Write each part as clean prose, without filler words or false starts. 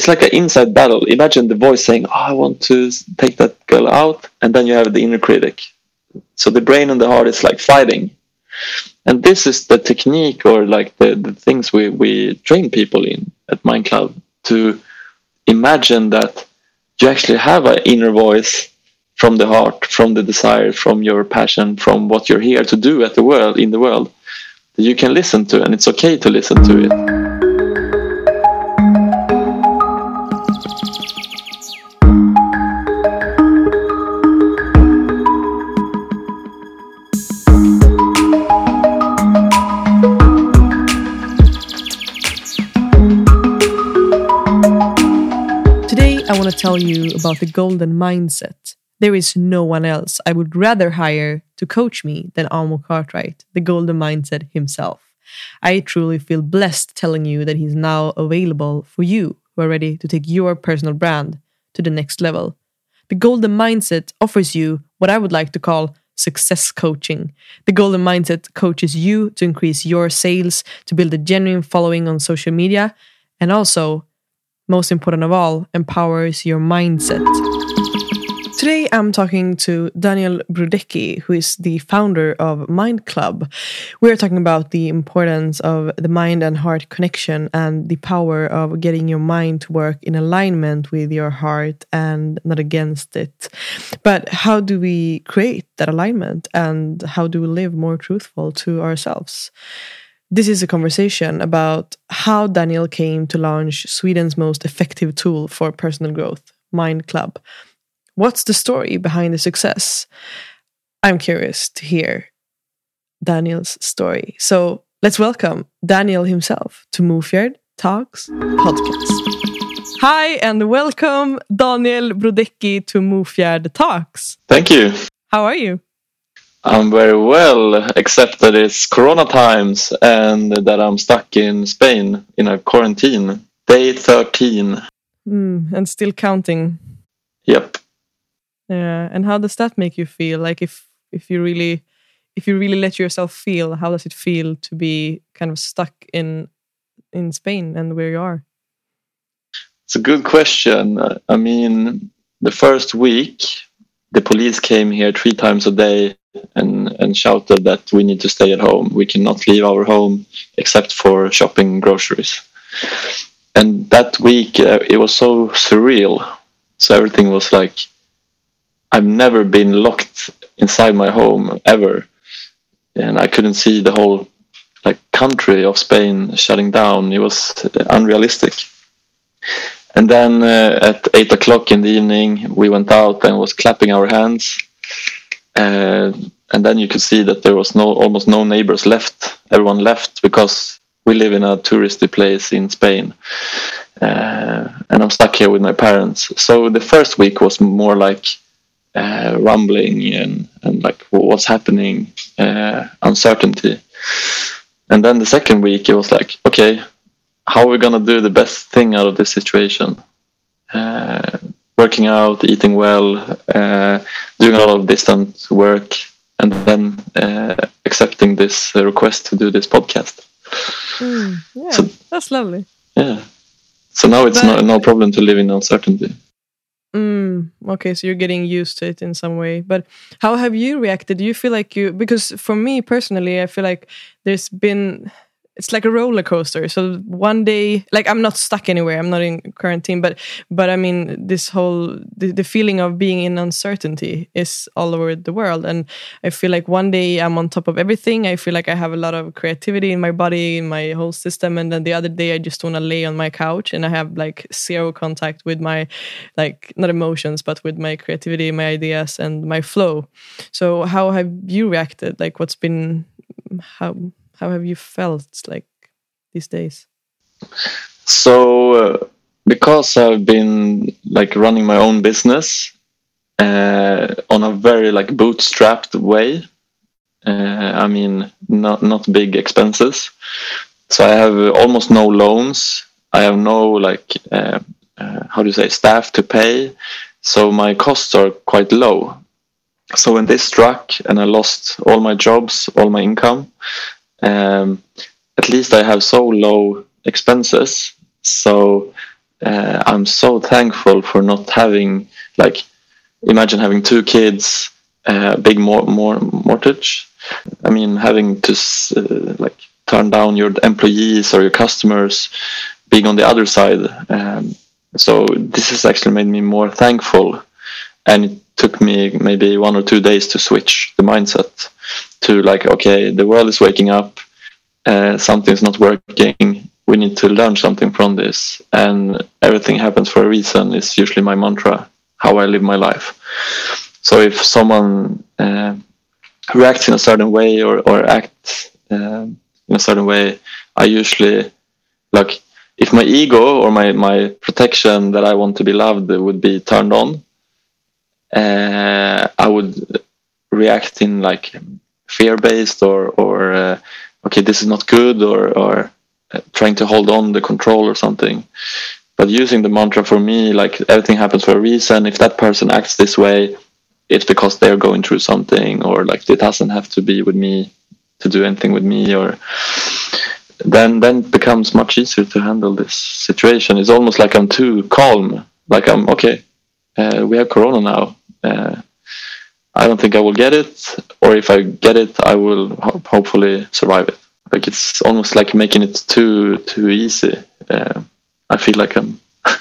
it's like an inside battle. Imagine the voice saying, I want to take that girl out. And then you have the inner critic. So the brain and the heart is like fighting. And this is the technique, or like the things we train people in at Mind Club, to imagine that you actually have an inner voice from the heart, from the desire, from your passion, from what you're here to do in the world, that you can listen to, and it's okay to listen to it. I want to tell you about the golden mindset. There is no one else I would rather hire to coach me than Amo Cartwright, the golden mindset himself. I truly feel blessed telling you that he's now available for you who are ready to take your personal brand to the next level. The golden mindset offers you what I would like to call success coaching. The golden mindset coaches you to increase your sales, to build a genuine following on social media, and also, most important of all, empowers your mindset. Today I'm talking to Daniel Brudecki, who is the founder of Mind Club. We're talking about the importance of the mind and heart connection and the power of getting your mind to work in alignment with your heart and not against it. But how do we create that alignment, and how do we live more truthful to ourselves? This is a conversation about how Daniel came to launch Sweden's most effective tool for personal growth, Mind Club. What's the story behind the success? I'm curious to hear Daniel's story. So let's welcome Daniel himself to Mofjärd Talks podcast. Hi and welcome Daniel Brudecki to Mofjärd Talks. Thank you. How are you? I'm very well, except that it's Corona times and that I'm stuck in Spain in a quarantine. Day 13. And still counting. Yep. Yeah. And how does that make you feel? Like if you really let yourself feel, how does it feel to be kind of stuck in Spain and where you are? It's a good question. I mean, the first week, the police came here 3 times a day and shouted that we need to stay at home. We cannot leave our home except for shopping groceries. And that week, it was so surreal. So everything was like, I've never been locked inside my home ever. And I couldn't see the whole country of Spain shutting down. It was unrealistic. And then at 8 o'clock in the evening, we went out and was clapping our hands. And then you could see that there was almost no neighbors left. Everyone left because we live in a touristy place in Spain. And I'm stuck here with my parents. So the first week was more like rumbling and like what's happening, uncertainty. And then the second week, it was like, okay, how are we going to do the best thing out of this situation? Working out, eating well, doing a lot of distant work, and then accepting this request to do this podcast. Yeah, so, that's lovely. Yeah. So now it's no problem to live in uncertainty. Okay, so you're getting used to it in some way. But how have you reacted? Do you feel like because for me personally, I feel like it's like a roller coaster. So one day, like I'm not stuck anywhere. I'm not in quarantine, but I mean, this whole, the feeling of being in uncertainty is all over the world. And I feel like one day I'm on top of everything. I feel like I have a lot of creativity in my body, in my whole system. And then the other day I just want to lay on my couch and I have like zero contact with my, like, not emotions, but with my creativity, my ideas and my flow. So how have you reacted? Like how have you felt like these days? So because I've been like running my own business on a very like bootstrapped way, I mean not big expenses. So I have almost no loans. I have no like staff to pay. So my costs are quite low. So when this struck and I lost all my jobs, all my income, at least I have so low expenses. So I'm so thankful for not having, like, imagine having 2 kids, big mortgage. I mean, having to like turn down your employees or your customers, being on the other side. So this has actually made me more thankful, and it took me maybe 1 or 2 days to switch the mindset to, like, okay, the world is waking up, something's not working, we need to learn something from this, and everything happens for a reason is usually my mantra, how I live my life. So if someone reacts in a certain way or acts in a certain way, I usually, like, if my ego or my protection that I want to be loved would be turned on, I would react in, like, fear-based or okay, this is not good, or trying to hold on the control or something. But using the mantra, for me, like, everything happens for a reason. If that person acts this way, it's because they're going through something, or, like, it doesn't have to be with me to do anything with me, or then it becomes much easier to handle this situation. It's almost like I'm too calm, like, I'm okay, we have corona now, I don't think I will get it, or if I get it, I will hopefully survive it. Like, it's almost like making it too easy. I feel like I'm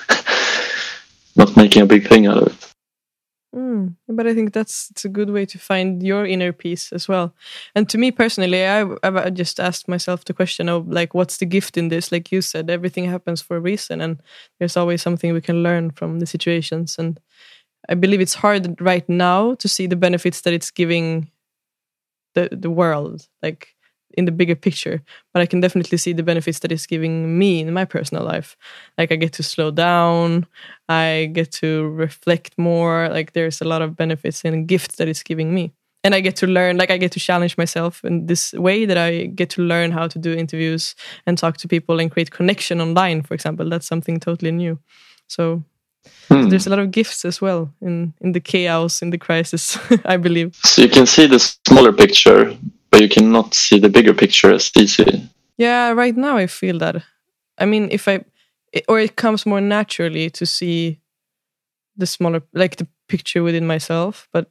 not making a big thing out of it. But I think it's a good way to find your inner peace as well. And to me personally, I've just asked myself the question of, like, what's the gift in this? Like you said, everything happens for a reason, and there's always something we can learn from the situations. And I believe it's hard right now to see the benefits that it's giving the world, like, in the bigger picture, but I can definitely see the benefits that it's giving me in my personal life. Like, I get to slow down, I get to reflect more. Like, there's a lot of benefits and gifts that it's giving me, and I get to learn. Like, I get to challenge myself in this way, that I get to learn how to do interviews and talk to people and create connection online, for example. That's something totally new. So there's a lot of gifts as well in the chaos, in the crisis. I believe. So you can see the smaller picture, but you cannot see the bigger picture as easy. Yeah, right now I feel that. I mean, it comes more naturally to see the smaller, like, the picture within myself. But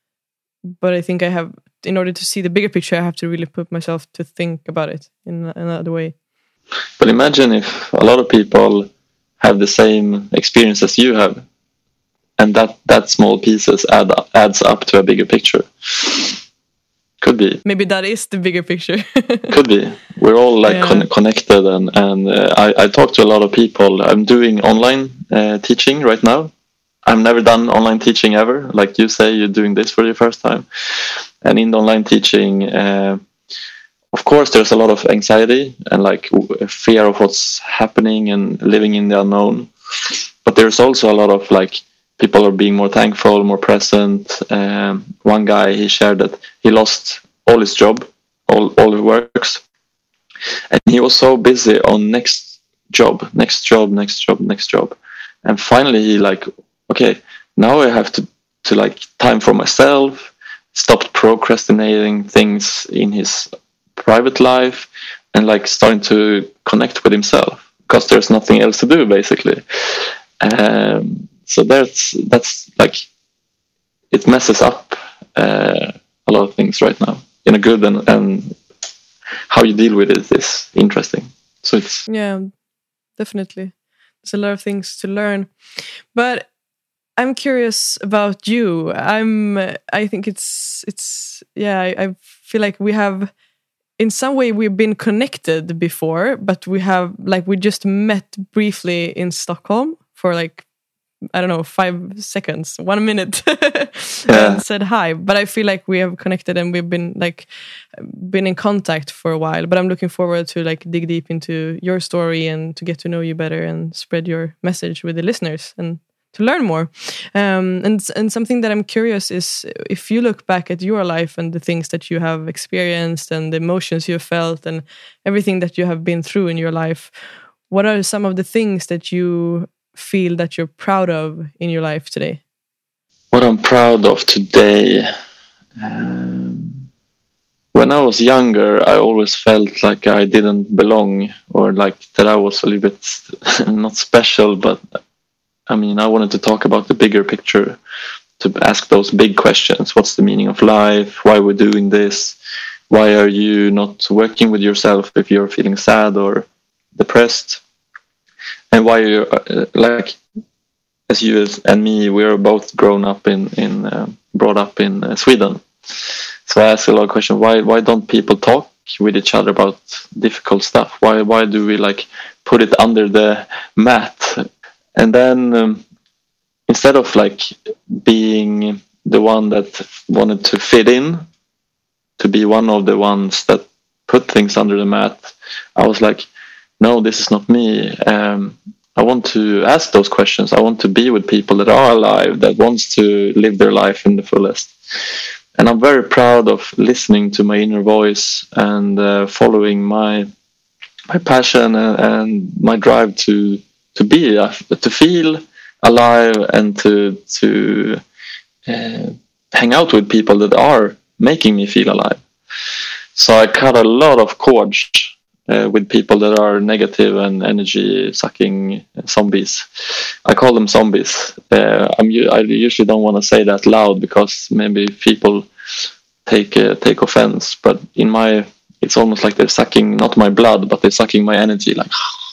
I think I have, in order to see the bigger picture, I have to really put myself to think about it in another way. But imagine if a lot of people have the same experience as you have, and that small pieces adds up to a bigger picture. Could be. Maybe that is the bigger picture. Could be. We're all, like, connected, and I talk to a lot of people. I'm doing online teaching right now. I've never done online teaching ever. Like you say, you're doing this for the first time. And in the online teaching, of course, there's a lot of anxiety and, like, fear of what's happening and living in the unknown. But there's also a lot of, like, people are being more thankful, more present. One guy, he shared that he lost all his job, all his works, and he was so busy on next job, and finally he, like, okay, now I have to like, time for myself. Stopped procrastinating things in his private life, and, like, starting to connect with himself, because there's nothing else to do, basically. So that's like, it messes up a lot of things right now in a good, and how you deal with it is interesting. So it's, yeah, definitely, there's a lot of things to learn. But I'm curious about you. I think it's yeah, I feel like we have, in some way, we've been connected before, but we just met briefly in Stockholm for, like, I don't know, 5 seconds, 1 minute, and said hi. But I feel like we have connected, and we've been in contact for a while. But I'm looking forward to, like, dig deep into your story and to get to know you better and spread your message with the listeners and to learn more. And something that I'm curious is, if you look back at your life and the things that you have experienced and the emotions you have felt and everything that you have been through in your life, what are some of the things that you feel that you're proud of in your life today? What I'm proud of today, when I was younger, I always felt like I didn't belong, or like that I was a little bit not special, but I mean, I wanted to talk about the bigger picture, to ask those big questions. What's the meaning of life? Why we're doing this? Why are you not working with yourself if you're feeling sad or depressed? And why are you, like, as you and me, we're both brought up in Sweden. So I ask a lot of questions. Why don't people talk with each other about difficult stuff? Why do we like put it under the mat? And then instead of like being the one that wanted to fit in, to be one of the ones that put things under the mat, I was like, no, this is not me. I want to ask those questions. I want to be with people that are alive, that wants to live their life in the fullest. And I'm very proud of listening to my inner voice and following my passion and my drive to feel alive and to hang out with people that are making me feel alive. So I cut a lot of cords with people that are negative and energy sucking zombies. I call them zombies. I usually don't want to say that loud because maybe people take offense. But it's almost like they're sucking not my blood, but they're sucking my energy. Like,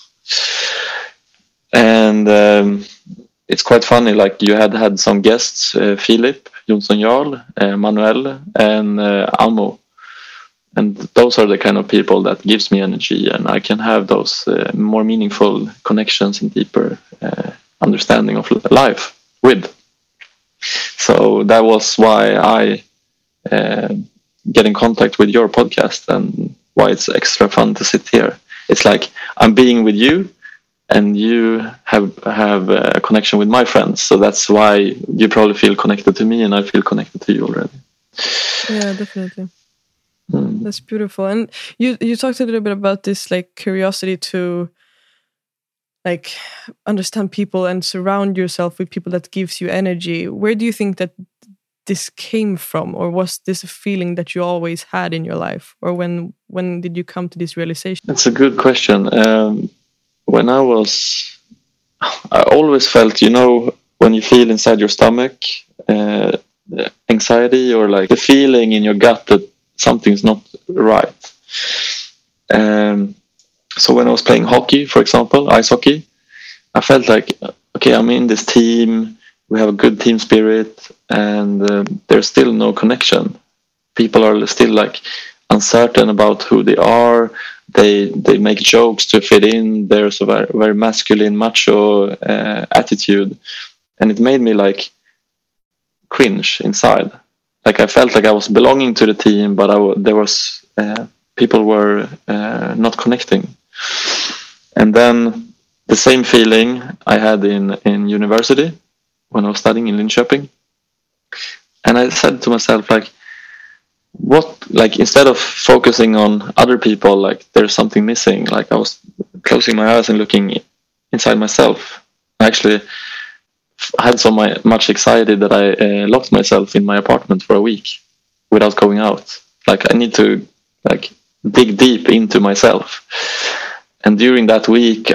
and it's quite funny. Like you had some guests, Philip Jonsson Jarl, Manuel, and Amo. And those are the kind of people that gives me energy, and I can have those more meaningful connections and deeper understanding of life with. So that was why I get in contact with your podcast, and why it's extra fun to sit here. It's like I'm being with you, and you have a connection with my friends. So that's why you probably feel connected to me, and I feel connected to you already. Yeah, definitely. That's beautiful. And you talked a little bit about this like curiosity to like understand people and surround yourself with people that gives you energy. Where do you think that this came from, or was this a feeling that you always had in your life, or when did you come to this realization? That's a good question. When I always felt, when you feel inside your stomach anxiety, or like the feeling in your gut that something's not right. So when I was playing hockey, for example, ice hockey, I felt like, okay, I'm in this team, we have a good team spirit, and there's still no connection. People are still like uncertain about who they are. They make jokes to fit in. There's a very, very masculine, macho attitude, and it made me like cringe inside. Like I felt like I was belonging to the team, but people were not connecting. And then the same feeling I had in university when I was studying in Linköping. And I said to myself, like, instead of focusing on other people, like there's something missing. Like I was closing my eyes and looking inside myself. I actually had so much anxiety that I locked myself in my apartment for a week without going out. Like I need to like dig deep into myself. And during that week,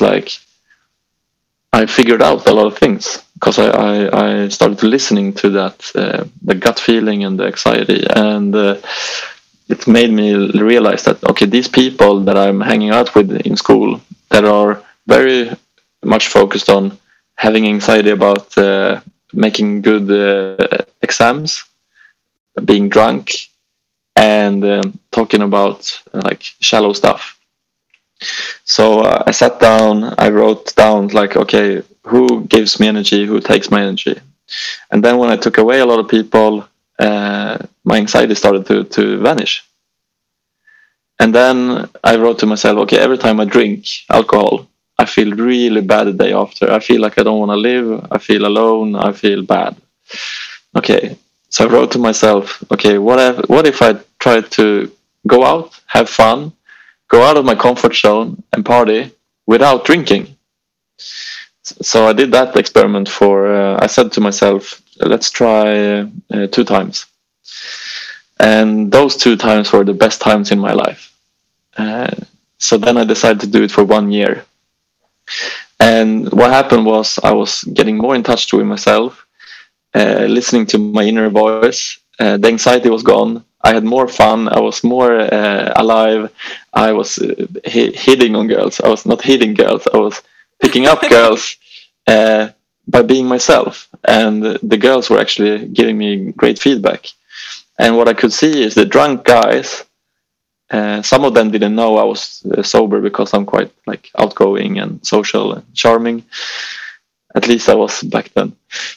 I figured out a lot of things, because I started listening to that, the gut feeling and the anxiety. And it made me realize that, okay, these people that I'm hanging out with in school that are very much focused on having anxiety about making good exams, being drunk, and talking about like shallow stuff. So I sat down, I wrote down like, okay, who gives me energy, who takes my energy? And then when I took away a lot of people, my anxiety started to vanish. And then I wrote to myself, okay, every time I drink alcohol, I feel really bad the day after. I feel like I don't want to live. I feel alone. I feel bad. Okay, so I wrote to myself, okay, what if I try to go out, have fun, go out of my comfort zone and party without drinking? So I did that experiment I said to myself, let's try 2 times. And those 2 times were the best times in my life. So then I decided to do it for 1 year. And what happened was I was getting more in touch with myself, listening to my inner voice. The anxiety was gone. I had more fun. I was more alive. I was hitting on girls. I was not hitting girls. I was picking up girls by being myself. And the girls were actually giving me great feedback. And what I could see is the drunk guys, some of them didn't know I was sober because I'm quite like outgoing and social and charming. At least I was back then.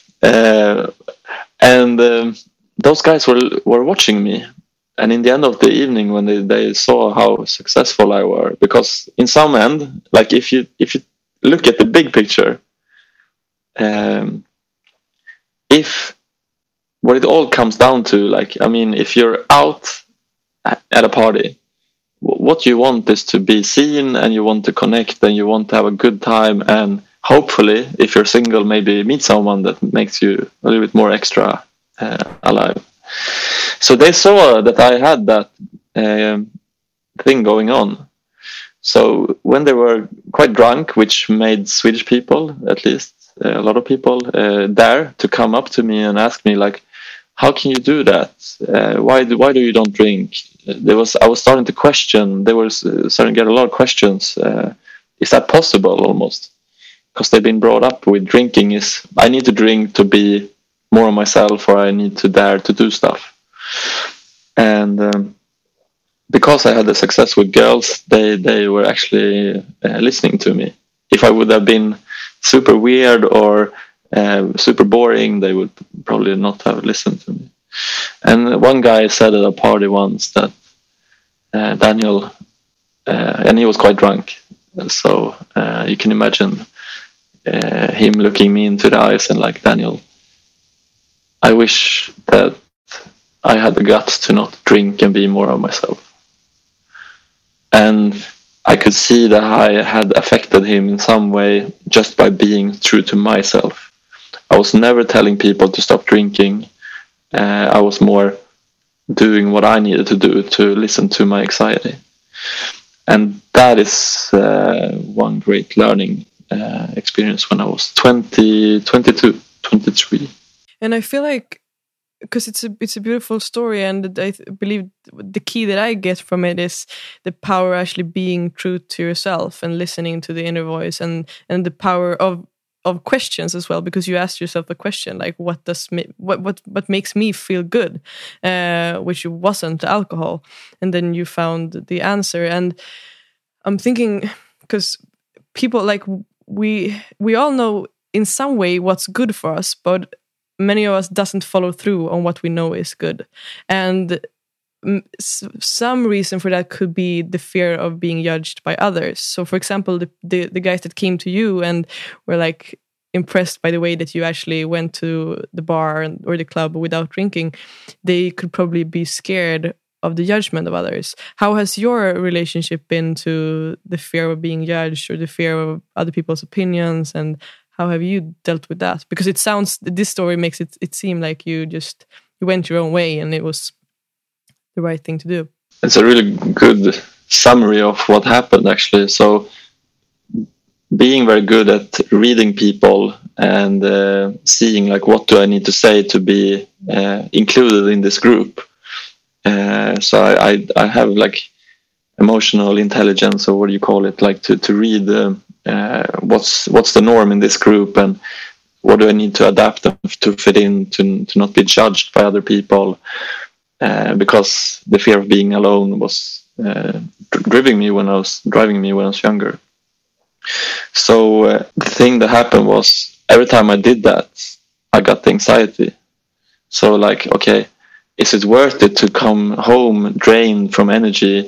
Those guys were watching me. And in the end of the evening, when they saw how successful I were, because in some end, like if you look at the big picture, if what it all comes down to, like, I mean, if you're out at a party, what you want is to be seen, and you want to connect, and you want to have a good time, and hopefully, if you're single, maybe meet someone that makes you a little bit more extra alive. So they saw that I had that thing going on. So when they were quite drunk, which made Swedish people, at least a lot of people, dare to come up to me and ask me, like, how can you do that? Why do you don't drink? I was starting to question. They were starting to get a lot of questions. Is that possible? Almost, because they've been brought up with drinking is I need to drink to be more of myself, or I need to dare to do stuff. And because I had the success with girls, they were actually listening to me. If I would have been super weird or super boring, they would probably not have listened to me. And one guy said at a party once that Daniel, and he was quite drunk, so you can imagine him looking me into the eyes and like, Daniel, I wish that I had the guts to not drink and be more of myself. And I could see that I had affected him in some way just by being true to myself. I was never telling people to stop drinking. I was more doing what I needed to do to listen to my anxiety. And that is one great learning experience when I was 20, 22, 23. And I feel like, because it's a beautiful story, and I believe the key that I get from it is the power actually being true to yourself and listening to the inner voice, and the power of questions as well, because you asked yourself a question like, what makes me feel good, which wasn't alcohol, and then you found the answer. And I'm thinking, because people, like, we all know in some way what's good for us, but many of us doesn't follow through on what we know is good. And some reason for that could be the fear of being judged by others. So for example, the guys that came to you and were like impressed by the way that you actually went to the bar or the club without drinking, they could probably be scared of the judgment of others. How has your relationship been to the fear of being judged or the fear of other people's opinions, and how have you dealt with that? Because this story makes it seem like you went your own way and it was the right thing to do. It's a really good summary of what happened, actually. So being very good at reading people and seeing, like, what do I need to say to be included in this group. So I have, like, emotional intelligence, or what do you call it, like to read what's the norm in this group, and what do I need to adapt to fit in, to not be judged by other people, because the fear of being alone was driving me when I was younger. So the thing that happened was, every time I did that, I got the anxiety. So, like, okay, is it worth it to come home drained from energy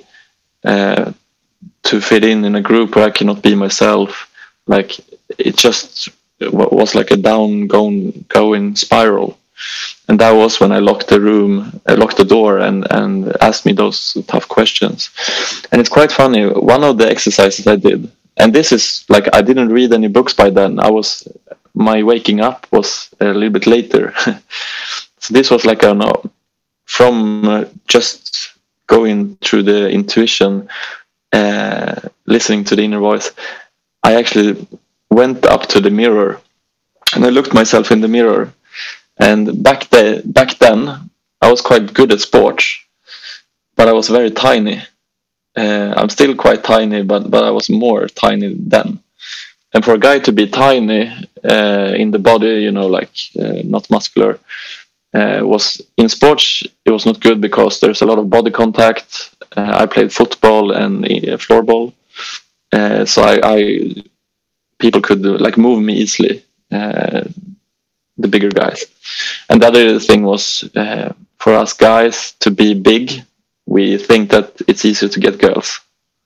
to fit in a group where I cannot be myself? Like, it just was like a going spiral. And that was when I locked the door and asked me those tough questions. And it's quite funny. One of the exercises I did, and this is like, I didn't read any books by then. My waking up was a little bit later. So this was like from just going through the intuition, listening to the inner voice, I actually went up to the mirror and I looked myself in the mirror. And back then, I was quite good at sports, but I was very tiny. I'm still quite tiny, but I was more tiny then. And for a guy to be tiny in the body, you know, like not muscular, was in sports. It was not good because there's a lot of body contact. I played football and floorball, so I people could like move me easily. The bigger guys, and the other thing was for us guys to be big. We think that it's easier to get girls.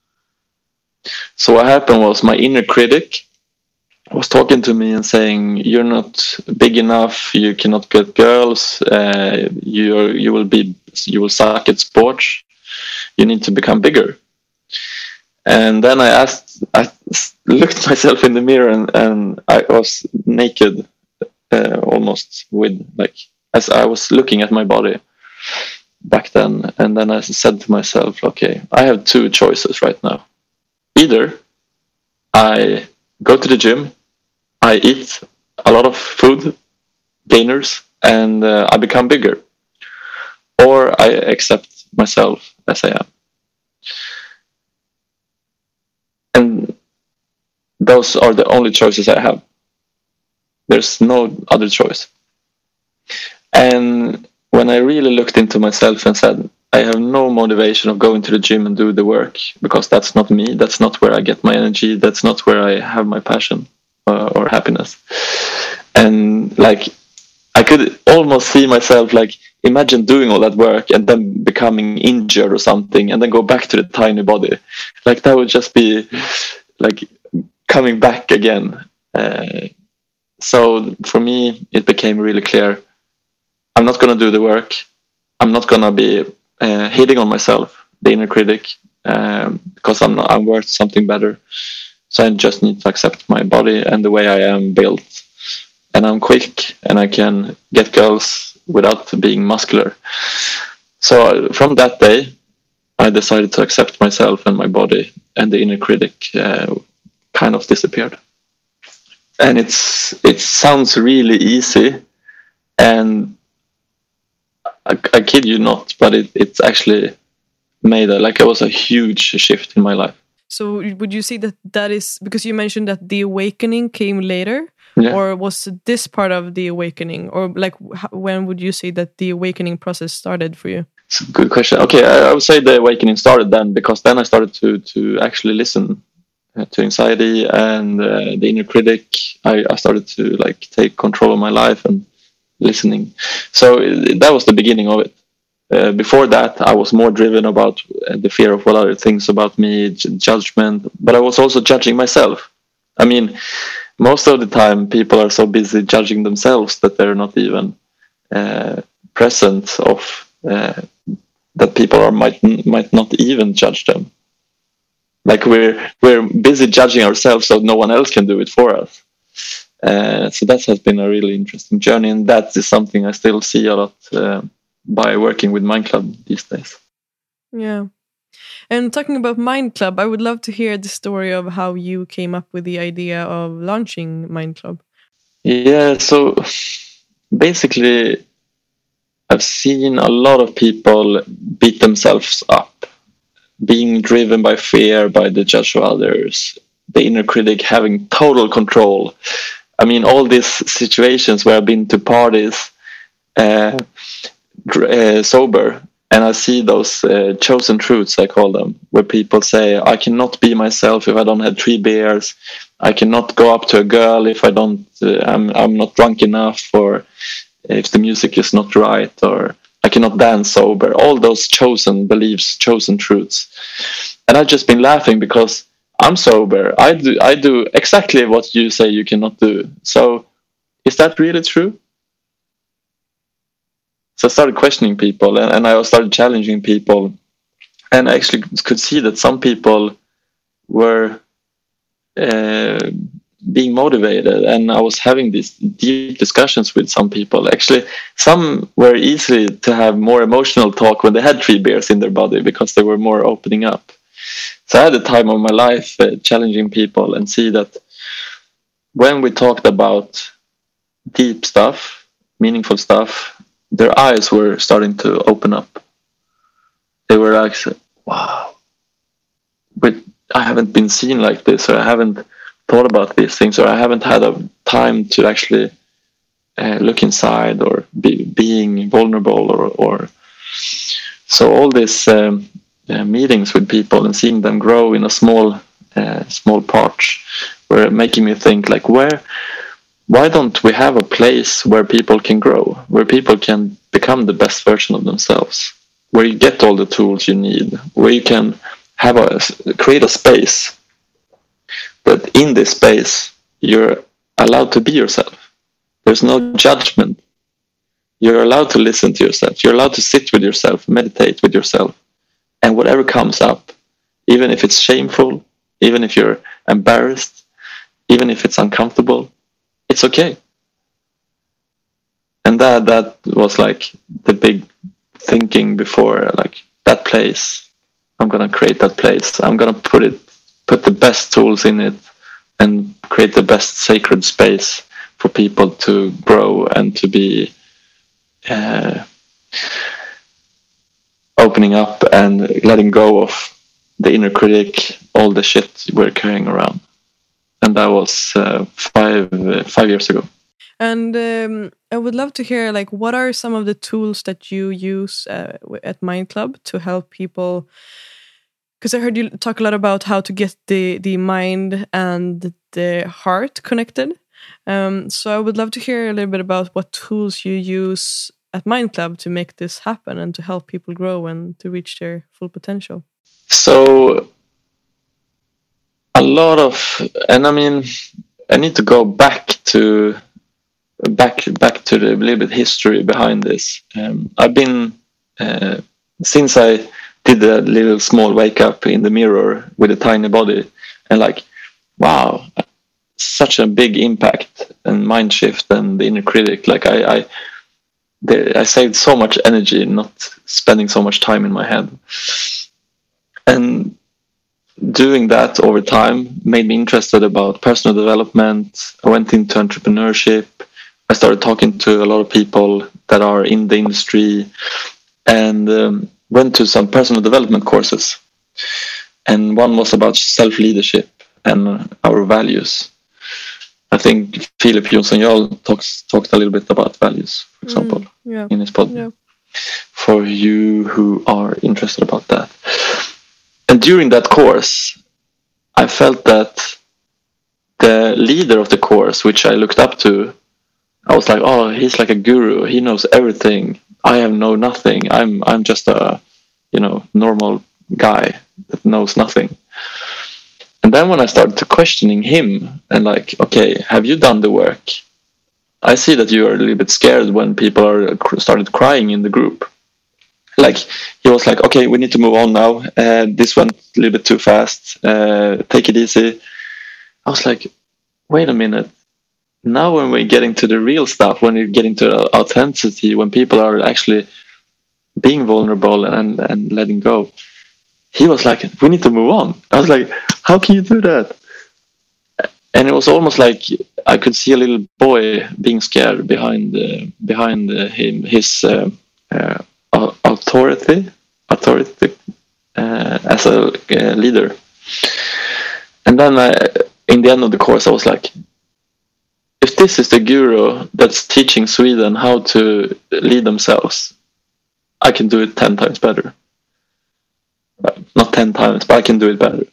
So what happened was my inner critic was talking to me and saying, "You're not big enough. You cannot get girls. You will suck at sports. You need to become bigger." And then I looked myself in the mirror and I was naked, almost with like as I was looking at my body back then. And then I said to myself, "Okay, I have two choices right now. Either I go to the gym, I eat a lot of food, gainers, and I become bigger, or I accept myself as I am." And those are the only choices I have. There's no other choice. And when I really looked into myself and said, I have no motivation of going to the gym and do the work, because that's not me. That's not where I get my energy. That's not where I have my passion or happiness. And like, I could almost see myself like, imagine doing all that work and then becoming injured or something and then go back to the tiny body. Like that would just be like coming back again. So for me, it became really clear. I'm not going to do the work. I'm not going to be hitting on myself, the inner critic, because I'm worth something better. So I just need to accept my body and the way I am built. And I'm quick and I can get girls without being muscular. So from that day, I decided to accept myself and my body, and the inner critic kind of disappeared. And it sounds really easy, and I kid you not, but it's actually made it was a huge shift in my life. So would you say that is because you mentioned that the awakening came later? Yeah. Or was this part of the awakening? Or like when would you say that the awakening process started for you? It's a good question. Okay, I would say the awakening started then, because then I started to actually listen to anxiety and the inner critic. I started to like take control of my life and listening. So that was the beginning of it. Before that, I was more driven about the fear of what other things about me, judgment, but I was also judging myself. I mean, most of the time, people are so busy judging themselves that they're not even present of that people might not even judge them. Like we're busy judging ourselves, so no one else can do it for us. So that has been a really interesting journey, and that is something I still see a lot by working with Mind Club these days. Yeah. And talking about Mind Club, I would love to hear the story of how you came up with the idea of launching Mind Club. Yeah, so basically, I've seen a lot of people beat themselves up, being driven by fear, by the judge of others, the inner critic having total control. I mean, all these situations where I've been to parties sober, and I see those chosen truths, I call them, where people say, I cannot be myself if I don't have 3 beers. I cannot go up to a girl if I don't, I'm not drunk enough, or if the music is not right, or I cannot dance sober. All those chosen beliefs, chosen truths. And I've just been laughing because I'm sober. I do exactly what you say you cannot do. So is that really true? So I started questioning people, and I started challenging people, and I actually could see that some people were being motivated, and I was having these deep discussions with some people. Actually, some were easy to have more emotional talk when they had 3 beers in their body because they were more opening up. So I had a time of my life challenging people and see that when we talked about deep stuff, meaningful stuff, their eyes were starting to open up. They were like, wow, but I haven't been seen like this, or I haven't thought about these things, or I haven't had a time to actually look inside or being vulnerable, or so all these meetings with people and seeing them grow in a small parts were making me think like, why don't we have a place where people can grow, where people can become the best version of themselves, where you get all the tools you need, where you can create a space. But in this space, you're allowed to be yourself. There's no judgment. You're allowed to listen to yourself. You're allowed to sit with yourself, meditate with yourself. And whatever comes up, even if it's shameful, even if you're embarrassed, even if it's uncomfortable, it's okay. And that was like the big thinking before, like that place. I'm gonna create that place. I'm gonna put the best tools in it and create the best sacred space for people to grow and to be opening up and letting go of the inner critic, all the shit we're carrying around. And that was 5 years ago. And I would love to hear, like, what are some of the tools that you use at Mind Club to help people? Because I heard you talk a lot about how to get the mind and the heart connected. So I would love to hear a little bit about what tools you use at Mind Club to make this happen and to help people grow and to reach their full potential. So a lot of, and I mean, I need to go back to the little bit history behind this. I've been since I did a little small wake up in the mirror with a tiny body, and like, wow, such a big impact and mind shift and the inner critic. Like I saved so much energy not spending so much time in my head, and doing that over time made me interested about personal development. I went into entrepreneurship. I started talking to a lot of people that are in the industry, and went to some personal development courses. And one was about self-leadership and our values. I think Philip Jonsson-Jarl talked a little bit about values, for example, in his podcast. Yeah. For you who are interested about that. And during that course, I felt that the leader of the course, which I looked up to, I was like, oh, he's like a guru. He knows everything. I know nothing. I'm just a, normal guy that knows nothing. And then when I started to questioning him and like, okay, have you done the work? I see that you are a little bit scared when people are started crying in the group. Like he was like, okay, we need to move on now. This went a little bit too fast. Take it easy. I was like, wait a minute. Now when we're getting to the real stuff, when we're getting to authenticity, when people are actually being vulnerable and letting go, he was like, we need to move on. I was like, how can you do that? And it was almost like I could see a little boy being scared behind him, his authority as a leader. And then in the end of the course, I was like, if this is the guru that's teaching Sweden how to lead themselves, I can do it 10 times better. Not 10 times, but I can do it better.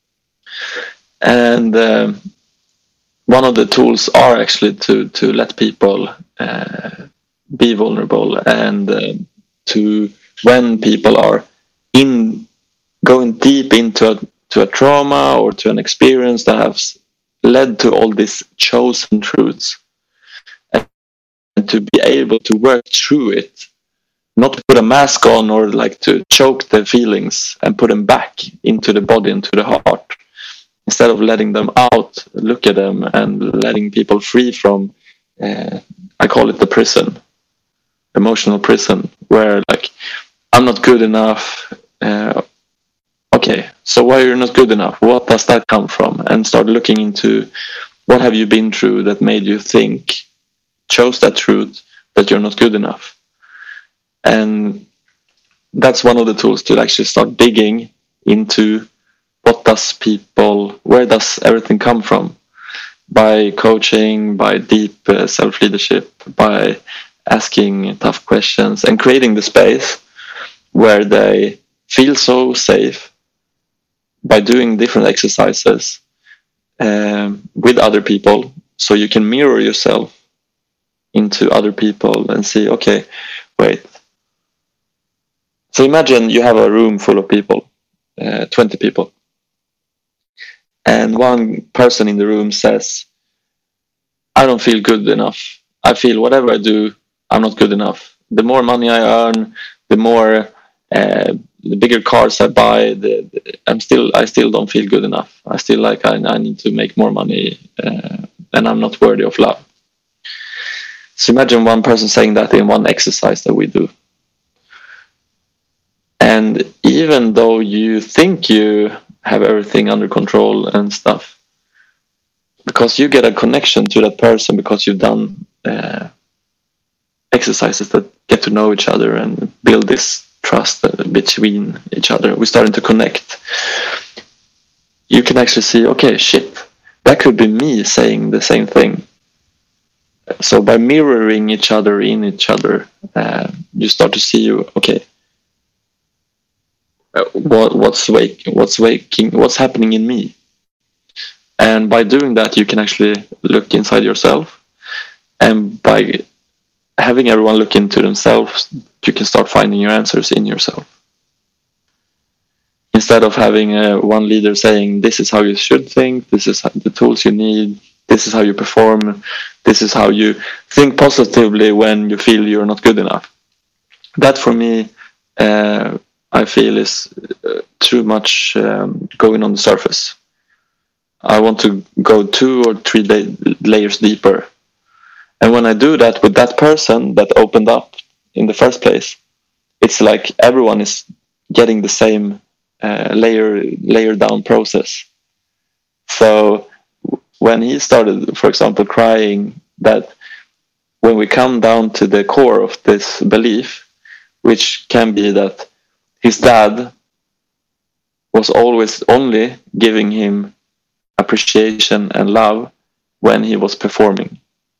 And one of the tools are actually to let people be vulnerable, and to when people are going deep into a trauma or to an experience that has led to all these chosen truths, and to be able to work through it, not to put a mask on or like to choke the feelings and put them back into the body, into the heart, instead of letting them out, look at them and letting people free from, I call it the prison, emotional prison, where like, I'm not good enough. Okay, so why are you not good enough? What does that come from? And start looking into what have you been through that made you chose that truth that you're not good enough. And that's one of the tools to actually start digging into where does everything come from? By coaching, by deep self-leadership, by asking tough questions and creating the space where they feel so safe by doing different exercises with other people, so you can mirror yourself into other people and see, okay, wait. So imagine you have a room full of people, 20 people. And one person in the room says, I don't feel good enough. I feel whatever I do, I'm not good enough. The more money I earn, the more, the bigger cars I buy, I still don't feel good enough. I still like I need to make more money, and I'm not worthy of love. So imagine one person saying that in one exercise that we do. And even though you think you have everything under control and stuff, because you get a connection to that person because you've done exercises that get to know each other and build this trust between each other. We're starting to connect. You can actually see, okay, shit, that could be me saying the same thing. So by mirroring each other in each other, you start to see, okay, what's happening in me. And by doing that, you can actually look inside yourself, and by having everyone look into themselves, you can start finding your answers in yourself. Instead of having one leader saying, this is how you should think, this is the tools you need, this is how you perform, this is how you think positively when you feel you're not good enough. That for me, I feel is too much going on the surface. I want to go 2 or 3 layers deeper. And when I do that with that person that opened up in the first place, it's like everyone is getting the same layer down process. So when he started, for example, crying, that when we come down to the core of this belief, which can be that his dad was always only giving him appreciation and love when he was performing.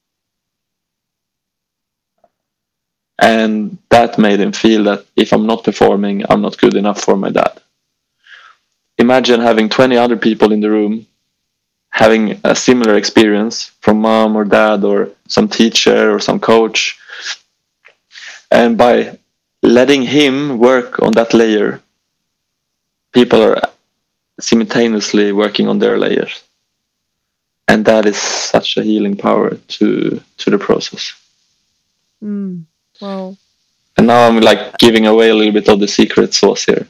And that made him feel that if I'm not performing, I'm not good enough for my dad. Imagine having 20 other people in the room having a similar experience from mom or dad or some teacher or some coach. And by letting him work on that layer, people are simultaneously working on their layers. And that is such a healing power to the process. Wow. And now I'm like giving away a little bit of the secret sauce here.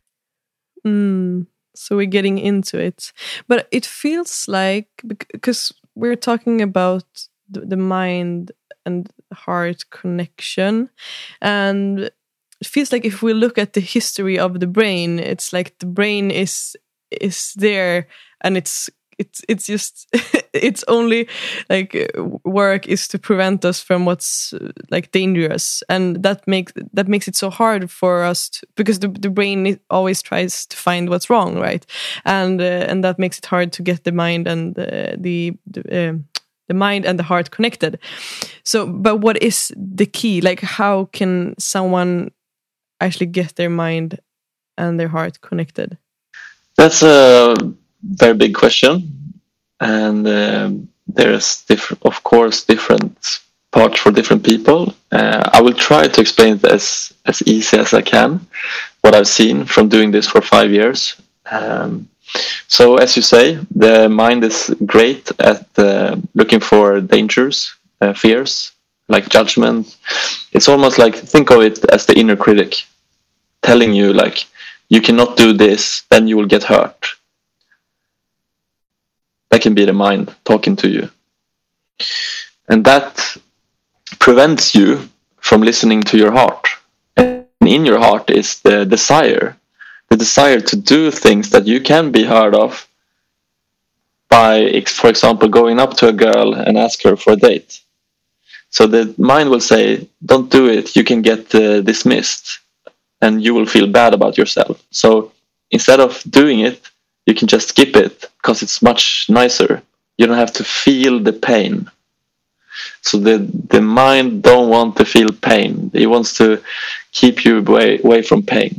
So we're getting into it. But it feels like, because we're talking about the mind and heart connection, and it feels like if we look at the history of the brain, it's like the brain is there, and it's just its only like work is to prevent us from what's like dangerous, and that makes it so hard for us because the brain always tries to find what's wrong, right? And that makes it hard to get the mind and the mind and the heart connected. So, but what is the key? Like, how can someone actually get their mind and their heart connected? That's a very big question, and there's different parts for different people. I will try to explain it as easy as I can, what I've seen from doing this for 5 years. So as you say, the mind is great at looking for dangers, fears, like judgment. It's almost like, think of it as the inner critic telling you like, you cannot do this, then you will get hurt. That can be the mind talking to you. And that prevents you from listening to your heart. And in your heart is the desire to do things that you can be heard of by, for example, going up to a girl and ask her for a date. So the mind will say, don't do it, you can get dismissed and you will feel bad about yourself. So instead of doing it, you can just skip it because it's much nicer. You don't have to feel the pain. So the mind don't want to feel pain. It wants to keep you away from pain.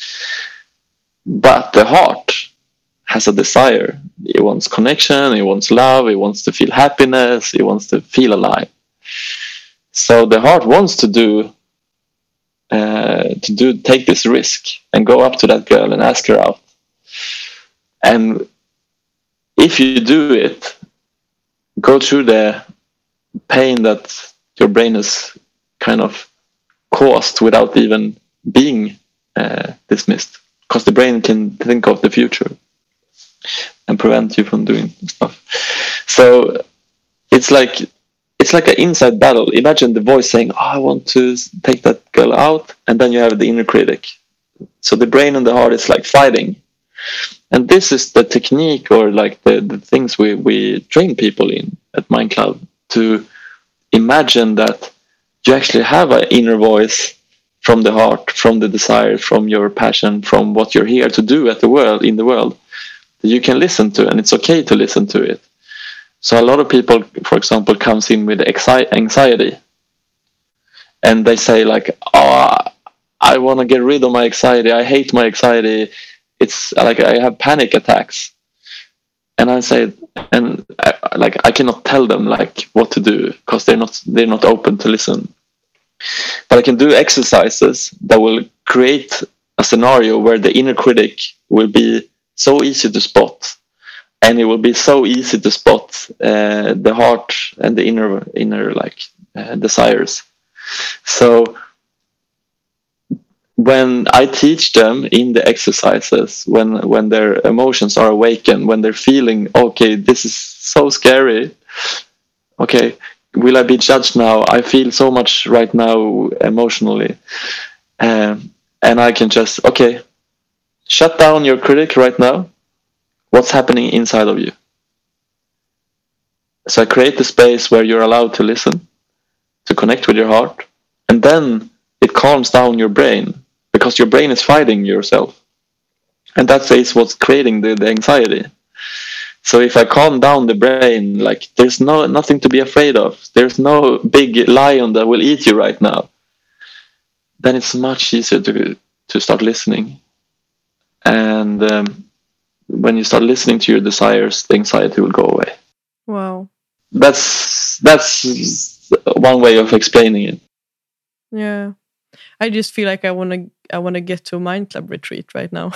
But the heart has a desire. It wants connection, it wants love, it wants to feel happiness, it wants to feel alive. So the heart wants to take this risk and go up to that girl and ask her out. And if you do it, go through the pain that your brain has kind of caused without even being dismissed, because the brain can think of the future and prevent you from doing stuff. So it's like an inside battle. Imagine the voice saying, I want to take that girl out, and then you have the inner critic. So the brain and the heart is like fighting. And this is the technique, or like the things we train people in at Mind Club, to imagine that you actually have an inner voice from the heart, from the desire, from your passion, from what you're here to do in the world, that you can listen to, and it's okay to listen to it. So a lot of people, for example, comes in with anxiety, and they say like, I want to get rid of my anxiety, I hate my anxiety, it's like I have panic attacks. And I say, and I cannot tell them like what to do, because they're not open to listen. But I can do exercises that will create a scenario where the inner critic will be so easy to spot, and it will be so easy to spot the heart and the inner desires. So when I teach them in the exercises, when their emotions are awakened, when they're feeling, okay, this is so scary, okay, will I be judged now? I feel so much right now emotionally. And I can just, okay, shut down your critic right now. What's happening inside of you? So I create the space where you're allowed to listen, to connect with your heart, and then it calms down your brain, because your brain is fighting yourself. And that is what's creating the anxiety. So if I calm down the brain, like there's nothing to be afraid of, there's no big lion that will eat you right now, then it's much easier to start listening. And when you start listening to your desires, the anxiety will go away. Wow. That's one way of explaining it. Yeah. I just feel like I want to get to a Mind Club retreat right now.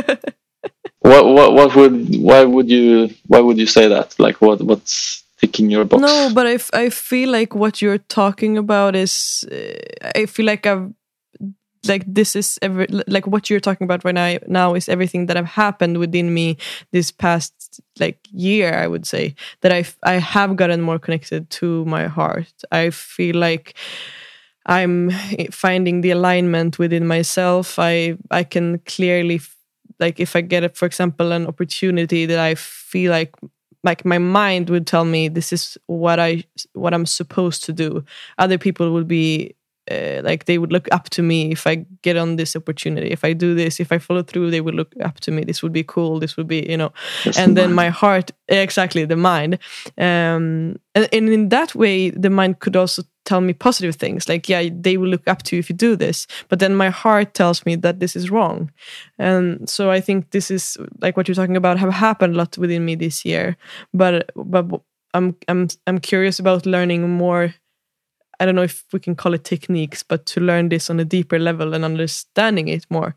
Why would you say that? Like what's ticking your box? No, but I feel like what you're talking about is I feel like this is like what you're talking about right now is everything that have happened within me this past year. I would say that I have gotten more connected to my heart. I feel like I'm finding the alignment within myself. I can clearly, if I get, for example, an opportunity that I feel like my mind would tell me this is what I'm supposed to do. Other people would be they would look up to me if I get on this opportunity. If I do this, if I follow through, they would look up to me. This would be cool. This would be, That's and the then mind. my heart, exactly, the mind. And in that way, the mind could also tell me positive things. Like, yeah, they will look up to you if you do this. But then my heart tells me that this is wrong. And so I think this is like what you're talking about have happened a lot within me this year. But I'm curious about learning more. I don't know if we can call it techniques, but to learn this on a deeper level and understanding it more.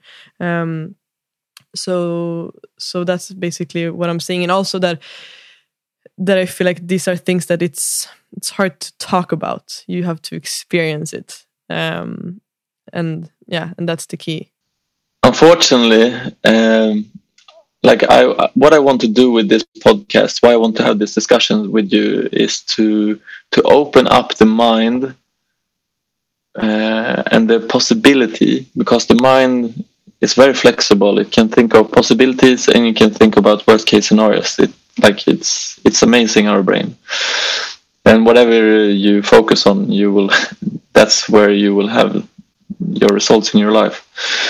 So that's basically what I'm saying. And also that I feel like these are things that it's hard to talk about. You have to experience it. And that's the key. Unfortunately, like what I want to do with this podcast, why I want to have this discussion with you, is to open up the mind and the possibility, because the mind is very flexible. It can think of possibilities and you can think about worst case scenarios. It's amazing, our brain. And whatever you focus on, you will that's where you will have your results in your life.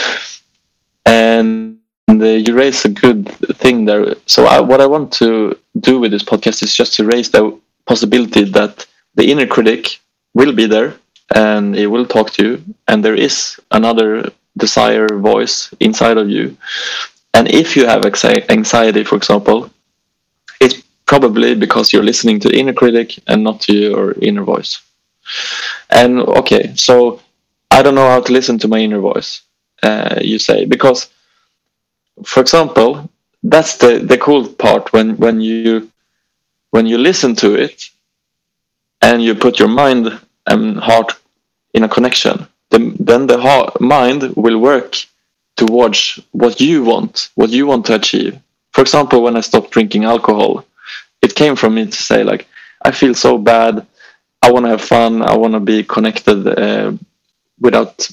And you raise a good thing there. So what I want to do with this podcast is just to raise the possibility that the inner critic will be there and it will talk to you, and there is another desire voice inside of you. And if you have anxiety, for example, it's probably because you're listening to the inner critic and not to your inner voice. And okay, so I don't know how to listen to my inner voice, you say, because, for example, that's the cool part when you listen to it and you put your mind and heart in a connection, then the mind will work towards what you want to achieve. For example, when I stopped drinking alcohol, it came from me to say, like, I feel so bad, I want to have fun, I want to be connected without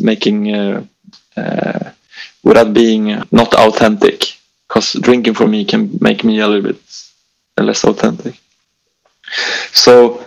being not authentic, because drinking for me can make me a little bit less authentic. So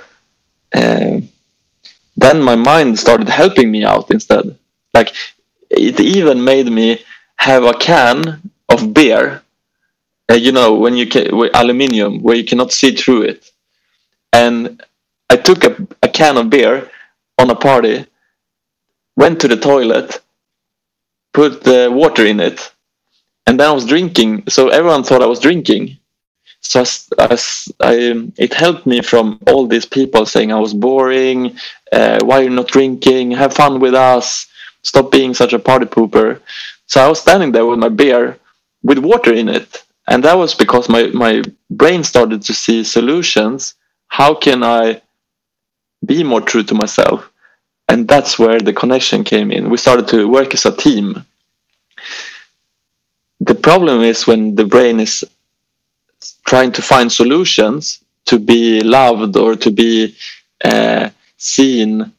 then my mind started helping me out instead. Like, it even made me have a can of beer, when with aluminium, where you cannot see through it. And I took a can of beer on a party, went to the toilet, put the water in it, and then I was drinking. So everyone thought I was drinking. So it helped me from all these people saying I was boring, why are you not drinking, have fun with us, stop being such a party pooper. So I was standing there with my beer with water in it. And that was because my brain started to see solutions. How can I be more true to myself? And that's where the connection came in. We started to work as a team. The problem is when the brain is trying to find solutions to be loved or to be seen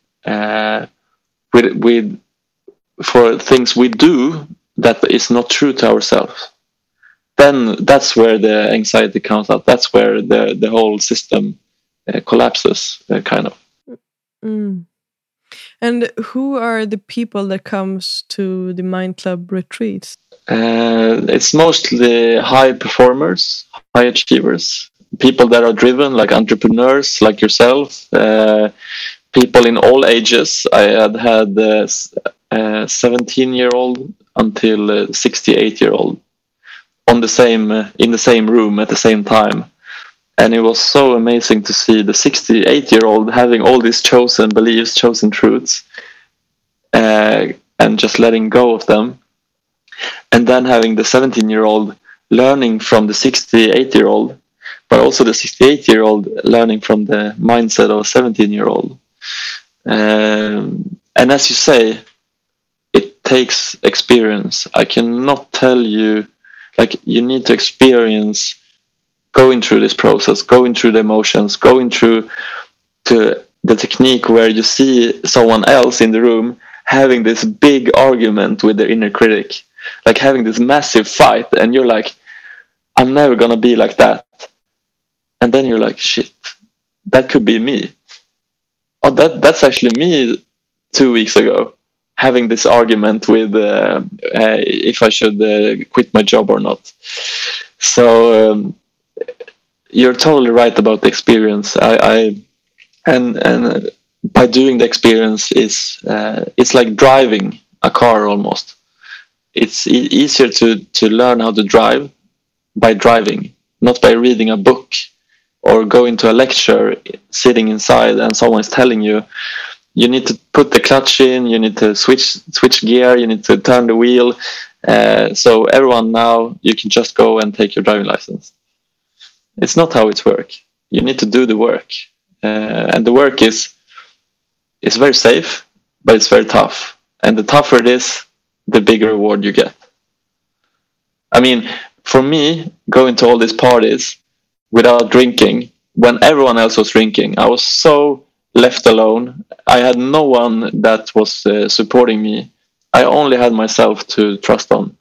with for things we do that is not true to ourselves. Then that's where the anxiety comes out. That's where the whole system collapses, kind of. Mm. And who are the people that comes to the Mind Club retreats? It's mostly high performers, high achievers, people that are driven, like entrepreneurs like yourself, people in all ages. I had 17-year-old until 68-year-old in the same room at the same time. And it was so amazing to see the 68-year-old having all these chosen beliefs, chosen truths, and just letting go of them. And then having the 17-year-old learning from the 68-year-old, but also the 68-year-old learning from the mindset of a 17-year-old. And as you say, it takes experience. I cannot tell you, like, you need to experience going through this process, going through the emotions, going through to the technique where you see someone else in the room having this big argument with their inner critic, like having this massive fight, and you're like, I'm never gonna be like that. And then you're like, shit, that could be me. Oh, that's actually me 2 weeks ago, having this argument with if I should quit my job or not. So you're totally right about the experience. And by doing the experience is it's like driving a car almost. It's easier to learn how to drive by driving, not by reading a book or going to a lecture, sitting inside and someone's telling you, you need to put the clutch in, you need to switch gear, you need to turn the wheel. So everyone now, you can just go and take your driving license. It's not how it works. You need to do the work. And the work is very safe, but it's very tough. And the tougher it is, the bigger reward you get. I mean, for me, going to all these parties without drinking, when everyone else was drinking, I was so left alone. I had no one that was supporting me. I only had myself to trust on.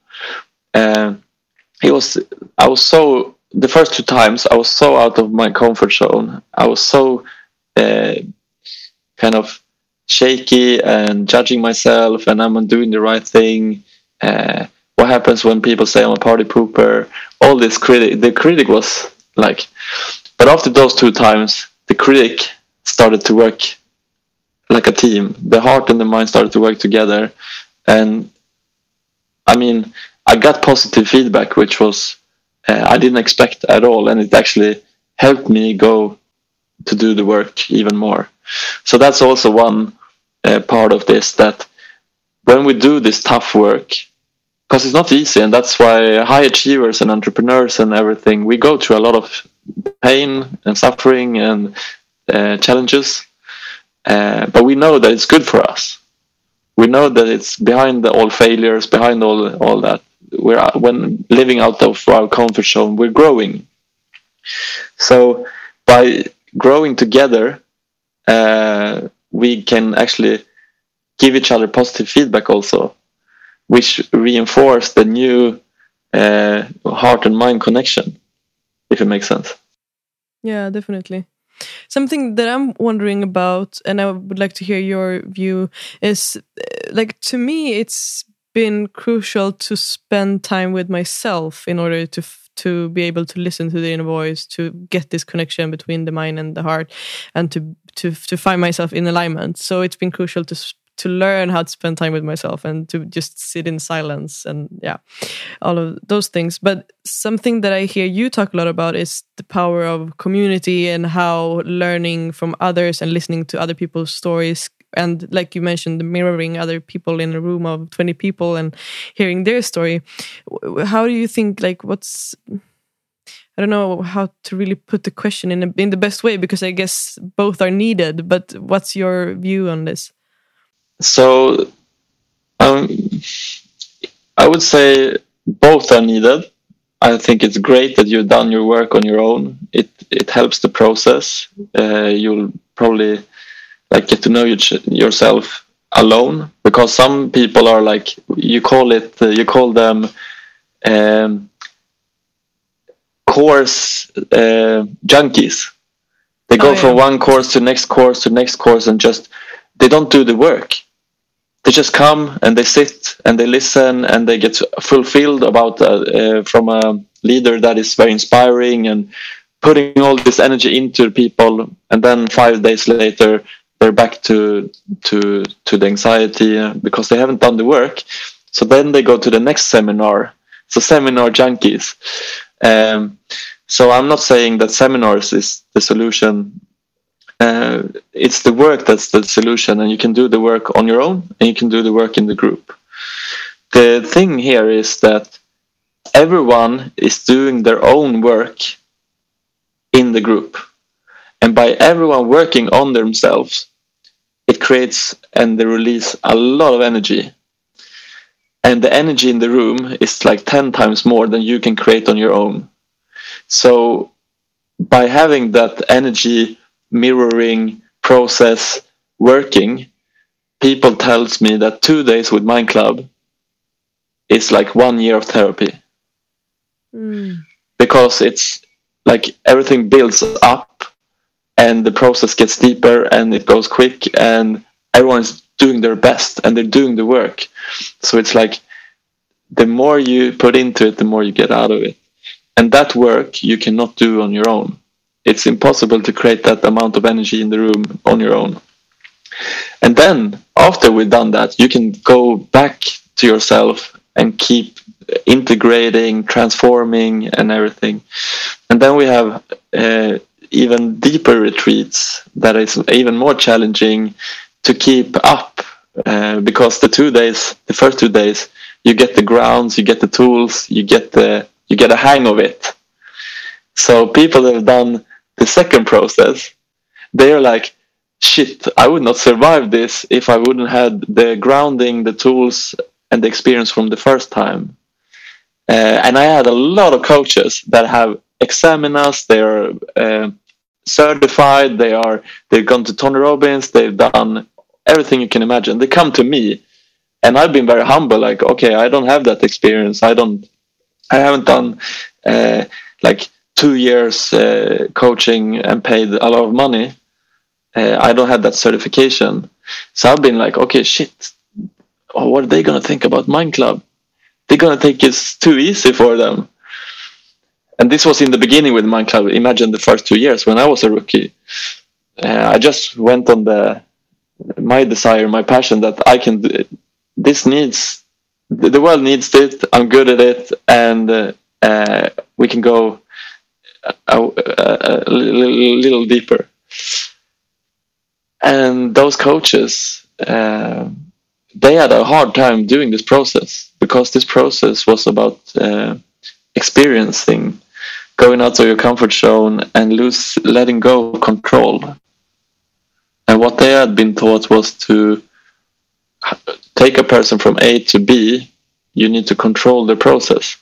I was so, the first 2 times I was so out of my comfort zone. I was so kind of shaky and judging myself, and am I doing the right thing? What happens when people say I'm a party pooper? All this the critic was like, but after those 2 times, the critic started to work like a team. The heart and the mind started to work together. And I mean, I got positive feedback, which was, I didn't expect at all. And it actually helped me go to do the work even more. So that's also one part of this, that when we do this tough work, because it's not easy, and that's why high achievers and entrepreneurs and everything, we go through a lot of pain and suffering and challenges, but we know that it's good for us. We know that it's behind all failures, behind all that. When living out of our comfort zone, we're growing. So by growing together, we can actually give each other positive feedback also, which reinforce the new heart and mind connection, if it makes sense. Yeah, definitely. Something that I'm wondering about, and I would like to hear your view, is like, to me, it's been crucial to spend time with myself in order to be able to listen to the inner voice, to get this connection between the mind and the heart, and to find myself in alignment. So it's been crucial to learn how to spend time with myself and to just sit in silence, and all of those things. But something that I hear you talk a lot about is the power of community, and how learning from others and listening to other people's stories, and like you mentioned, the mirroring other people in a room of 20 people and hearing their story. How do you think, like, I don't know how to really put the question in the best way, because I guess both are needed, but what's your view on this? So I would say both are needed. I think it's great that you've done your work on your own. It helps the process. You'll probably get to know yourself alone, because some people are like, you call them course junkies. They go from one course to next course to next course, and just they don't do the work. They just come and they sit and they listen, and they get fulfilled about from a leader that is very inspiring and putting all this energy into people, and then 5 days later they're back to the anxiety because they haven't done the work. So then they go to the next seminar. So seminar junkies. So I'm not saying that seminars is the solution. It's the work that's the solution, and you can do the work on your own, and you can do the work in the group. The thing here is that everyone is doing their own work in the group, and by everyone working on themselves, it creates and they release a lot of energy, and the energy in the room is like 10 times more than you can create on your own. So by having that energy mirroring process working, people tells me that 2 days with Mind Club is like 1 year of therapy. Because it's like everything builds up and the process gets deeper and it goes quick, and everyone's doing their best and they're doing the work. So it's like the more you put into it, the more you get out of it. And that work you cannot do on your own. It's impossible to create that amount of energy in the room on your own. And then after we've done that, you can go back to yourself and keep integrating, transforming and everything. And then we have even deeper retreats that is even more challenging to keep up, because the first 2 days, you get the grounds, you get the tools, you get a hang of it. So people that have done the second process, they are like, shit, I would not survive this if I wouldn't have the grounding, the tools and the experience from the first time. And I had a lot of coaches that have examined us. They're certified. They've gone to Tony Robbins. They've done everything you can imagine. They come to me, and I've been very humble. Like, okay, I don't have that experience. I haven't done like 2 years coaching and paid a lot of money. I don't have that certification. So I've been like, okay, shit. Oh, what are they gonna think about Mind Club? They're gonna think it's too easy for them. And this was in the beginning with Mind Club. Imagine the first 2 years when I was a rookie. I just went on my desire, my passion that I can do it. The world needs it. I'm good at it, and we can go a little deeper. And those coaches, they had a hard time doing this process because this process was about experiencing, going out of your comfort zone and letting go of control. And what they had been taught was to take a person from A to B, you need to control the process.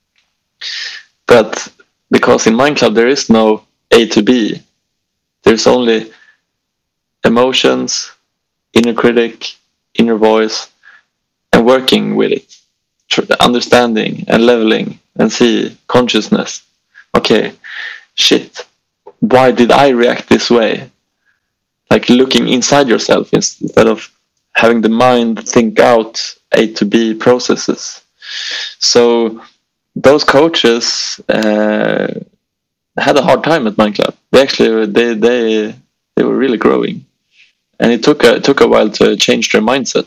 But because in Mind Club there is no A to B, there's only emotions, inner critic, inner voice, and working with it, understanding and leveling and see consciousness. Okay, shit, why did I react this way? Like looking inside yourself instead of having the mind think out A to B processes. So those coaches had a hard time at Mind Club. They were really growing, and it took a while to change their mindset.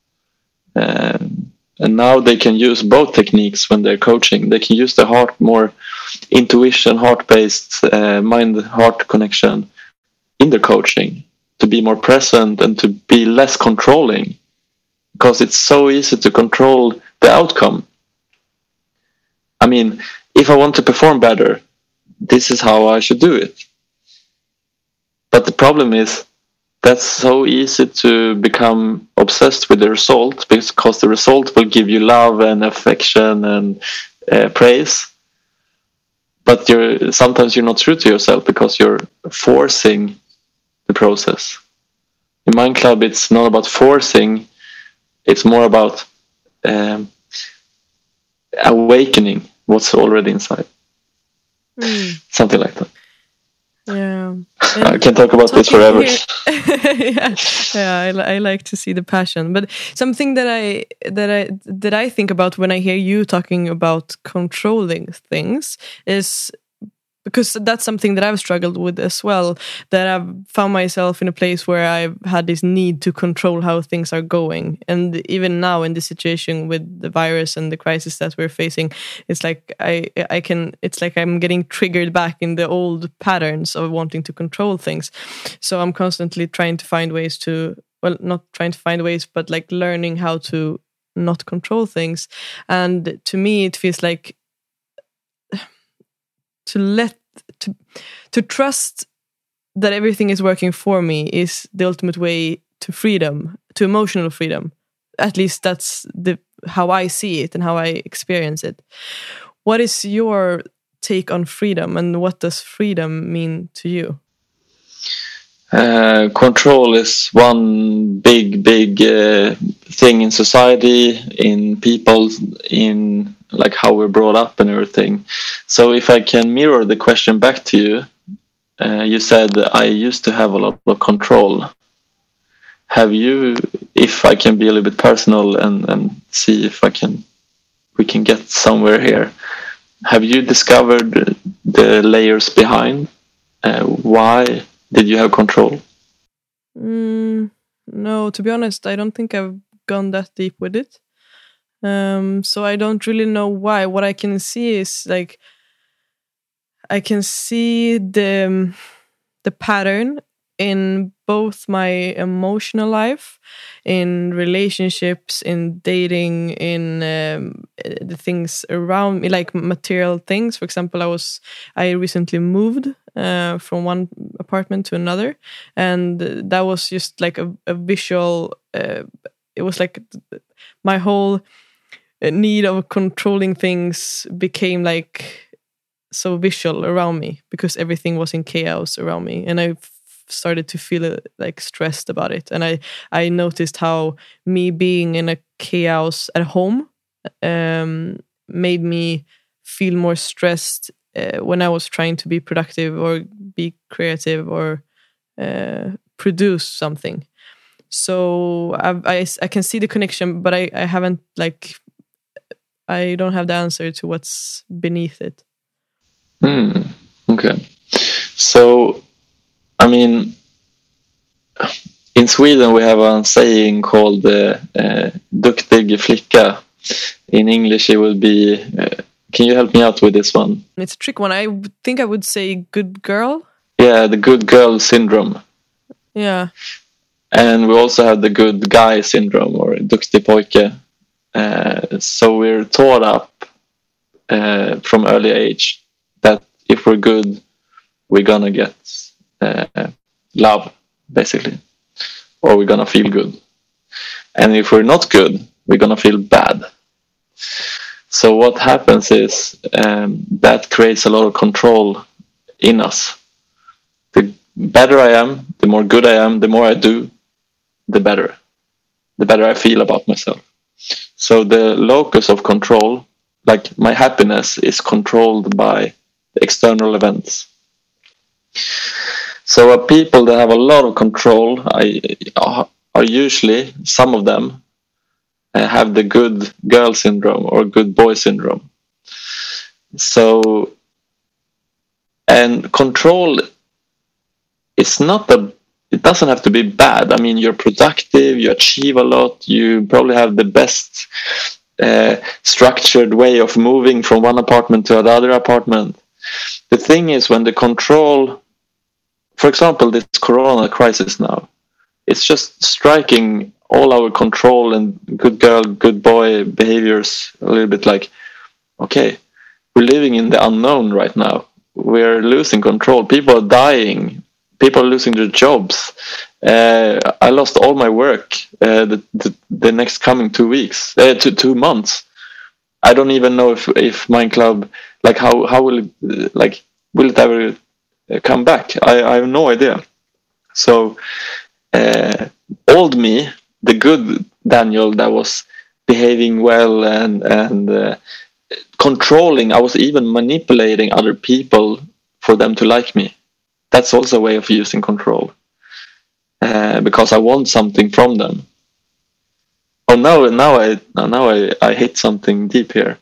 And now they can use both techniques when they're coaching. They can use the heart, more intuition, heart-based, mind-heart connection in their coaching to be more present and to be less controlling, because it's so easy to control the outcome. I mean, if I want to perform better, this is how I should do it. But the problem is that's so easy to become obsessed with the result, because the result will give you love and affection and praise. But sometimes you're not true to yourself because you're forcing the process. In Mind Club, it's not about forcing. It's more about awakening what's already inside. Something like that. Yeah, I can talk about this forever. I like to see the passion. But something that I think about when I hear you talking about controlling things is, because that's something that I've struggled with as well, that I've found myself in a place where I've had this need to control how things are going. And even now in this situation with the virus and the crisis that we're facing, it's like it's like I'm getting triggered back in the old patterns of wanting to control things. So I'm constantly trying to find ways to, well, not trying to find ways, but like learning how to not control things. And to me, it feels like to trust that everything is working for me is the ultimate way to freedom, to emotional freedom. At least that's how I see it and how I experience it. What is your take on freedom, and what does freedom mean to you? Control is one big thing in society, in people, in like how we're brought up and everything. So if I can mirror the question back to you, you said I used to have a lot of control. Have you, if I can be a little bit personal and see if we can get somewhere here, have you discovered the layers behind? Why did you have control? No, to be honest, I don't think I've gone that deep with it. So I don't really know why. What I can see is like I can see the pattern in both my emotional life, in relationships, in dating, in the things around me, like material things. For example, I recently moved from one apartment to another, and that was just like a visual. It was like my whole need of controlling things became like so visual around me because everything was in chaos around me, and I started to feel like stressed about it. And I noticed how me being in a chaos at home made me feel more stressed when I was trying to be productive or be creative or produce something. So I can see the connection, but I haven't I don't have the answer to what's beneath it. Okay. So, I mean, in Sweden we have a saying called "duktig flicka." In English it would be, can you help me out with this one? It's a trick one. I think I would say good girl. Yeah, the good girl syndrome. Yeah. And we also have the good guy syndrome, or duktig pojke. So we're taught up from early age that if we're good, we're gonna get love, basically, or we're gonna feel good. And if we're not good, we're gonna feel bad. So what happens is that creates a lot of control in us. The better I am, the more good I am, the more I do, the better I feel about myself. So the locus of control, like my happiness, is controlled by external events. So people that have a lot of control are usually, some of them, have the good girl syndrome or good boy syndrome. So, and control is not it doesn't have to be bad. I mean, you're productive, you achieve a lot, you probably have the best structured way of moving from one apartment to another apartment. The thing is, when the control, for example, this corona crisis now, it's just striking all our control and good girl, good boy behaviors a little bit like, okay, we're living in the unknown right now. We're losing control. People are dying. People are losing their jobs. I lost all my work the next coming 2 weeks, 2 months. I don't even know if Mind Club, like how will it, like, will it ever come back? I have no idea. So old me, the good Daniel that was behaving well and controlling, I was even manipulating other people for them to like me. That's also a way of using control, because I want something from them. Oh, now I hit something deep here.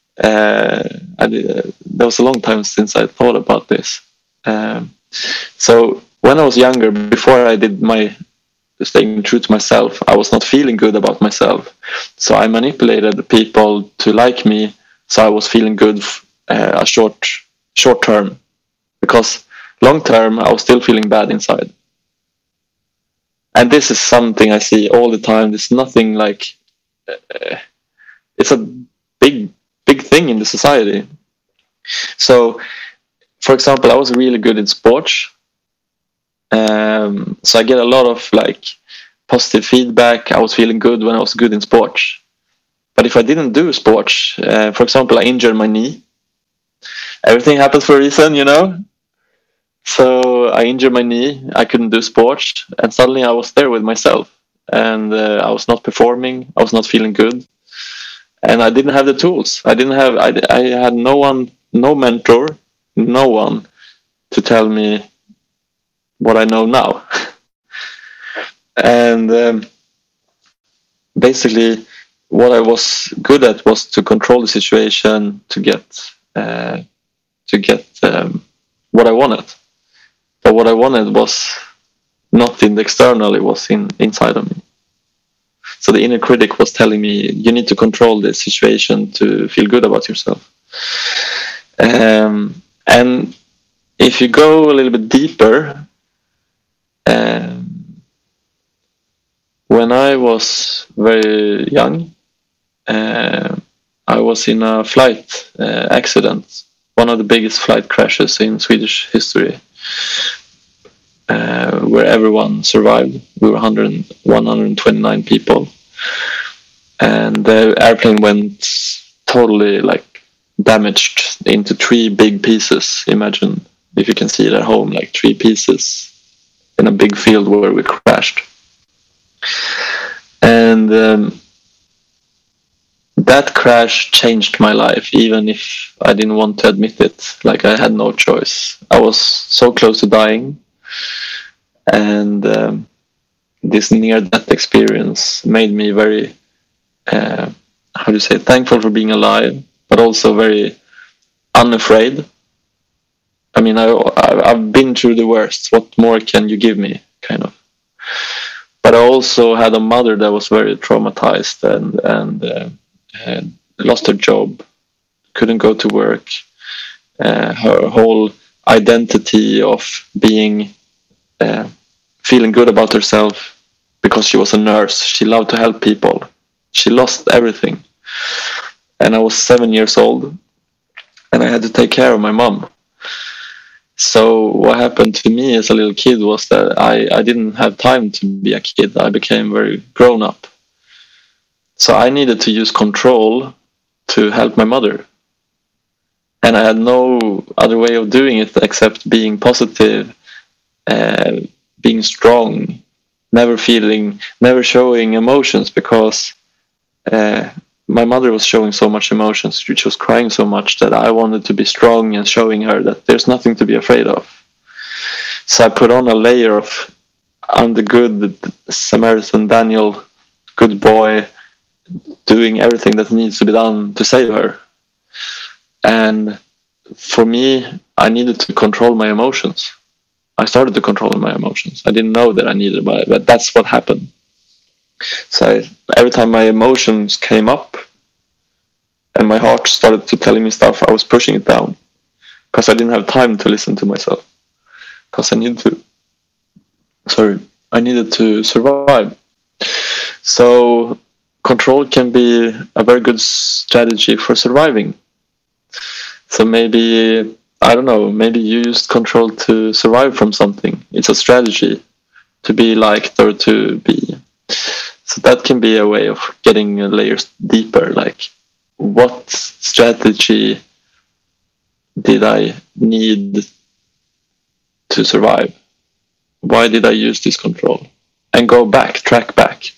That was a long time since I thought about this. So when I was younger, before I did my staying true to myself, I was not feeling good about myself. So I manipulated people to like me, so I was feeling good a short term, because long term I was still feeling bad inside. And this is something I see all the time. There's nothing like it's a big thing in the society. So, for example, I was really good in sports. So I get a lot of like positive feedback. I was feeling good when I was good in sports. But if I didn't do sports, for example, I injured my knee. Everything happens for a reason, you know. So I injured my knee. I couldn't do sports, and suddenly I was there with myself, and I was not performing. I was not feeling good, and I didn't have the tools. I had no one, no mentor, no one to tell me what I know now. And basically, what I was good at was to control the situation to get what I wanted. But what I wanted was not in the external; it was inside of me. So the inner critic was telling me, "You need to control this situation to feel good about yourself." And if you go a little bit deeper, when I was very young, I was in a flight accident, one of the biggest flight crashes in Swedish history, where everyone survived. We were 129 people. and the airplane went totally like damaged into 3 big pieces. Imagine if you can see it at home, like 3 pieces in a big field where we crashed. And that crash changed my life, even if I didn't want to admit it. Like, I had no choice. I was so close to dying, and this near-death experience made me very, thankful for being alive, but also very unafraid. I mean, I've been through the worst. What more can you give me, kind of? But I also had a mother that was very traumatized and lost her job, couldn't go to work. Her whole identity of being feeling good about herself because she was a nurse. She loved to help people. She lost everything. And I was 7 years old, and I had to take care of my mom. So what happened to me as a little kid was that I didn't have time to be a kid. I became very grown up. So I needed to use control to help my mother. And I had no other way of doing it except being positive, being strong, never showing emotions, because my mother was showing so much emotions. She was crying so much that I wanted to be strong and showing her that there's nothing to be afraid of. So I put on a layer of, I'm the good Samaritan Daniel, good boy, doing everything that needs to be done to save her. And for me, I needed to control my emotions. I started to control my emotions. I didn't know that I needed, but that's what happened. So every time my emotions came up and my heart started to tell me stuff, I was pushing it down because I didn't have time to listen to myself, because I needed to survive. So control can be a very good strategy for surviving. So maybe, I don't know, maybe you used control to survive from something. It's a strategy to be liked or to be. So that can be a way of getting layers deeper. Like, what strategy did I need to survive? Why did I use this control? And track back.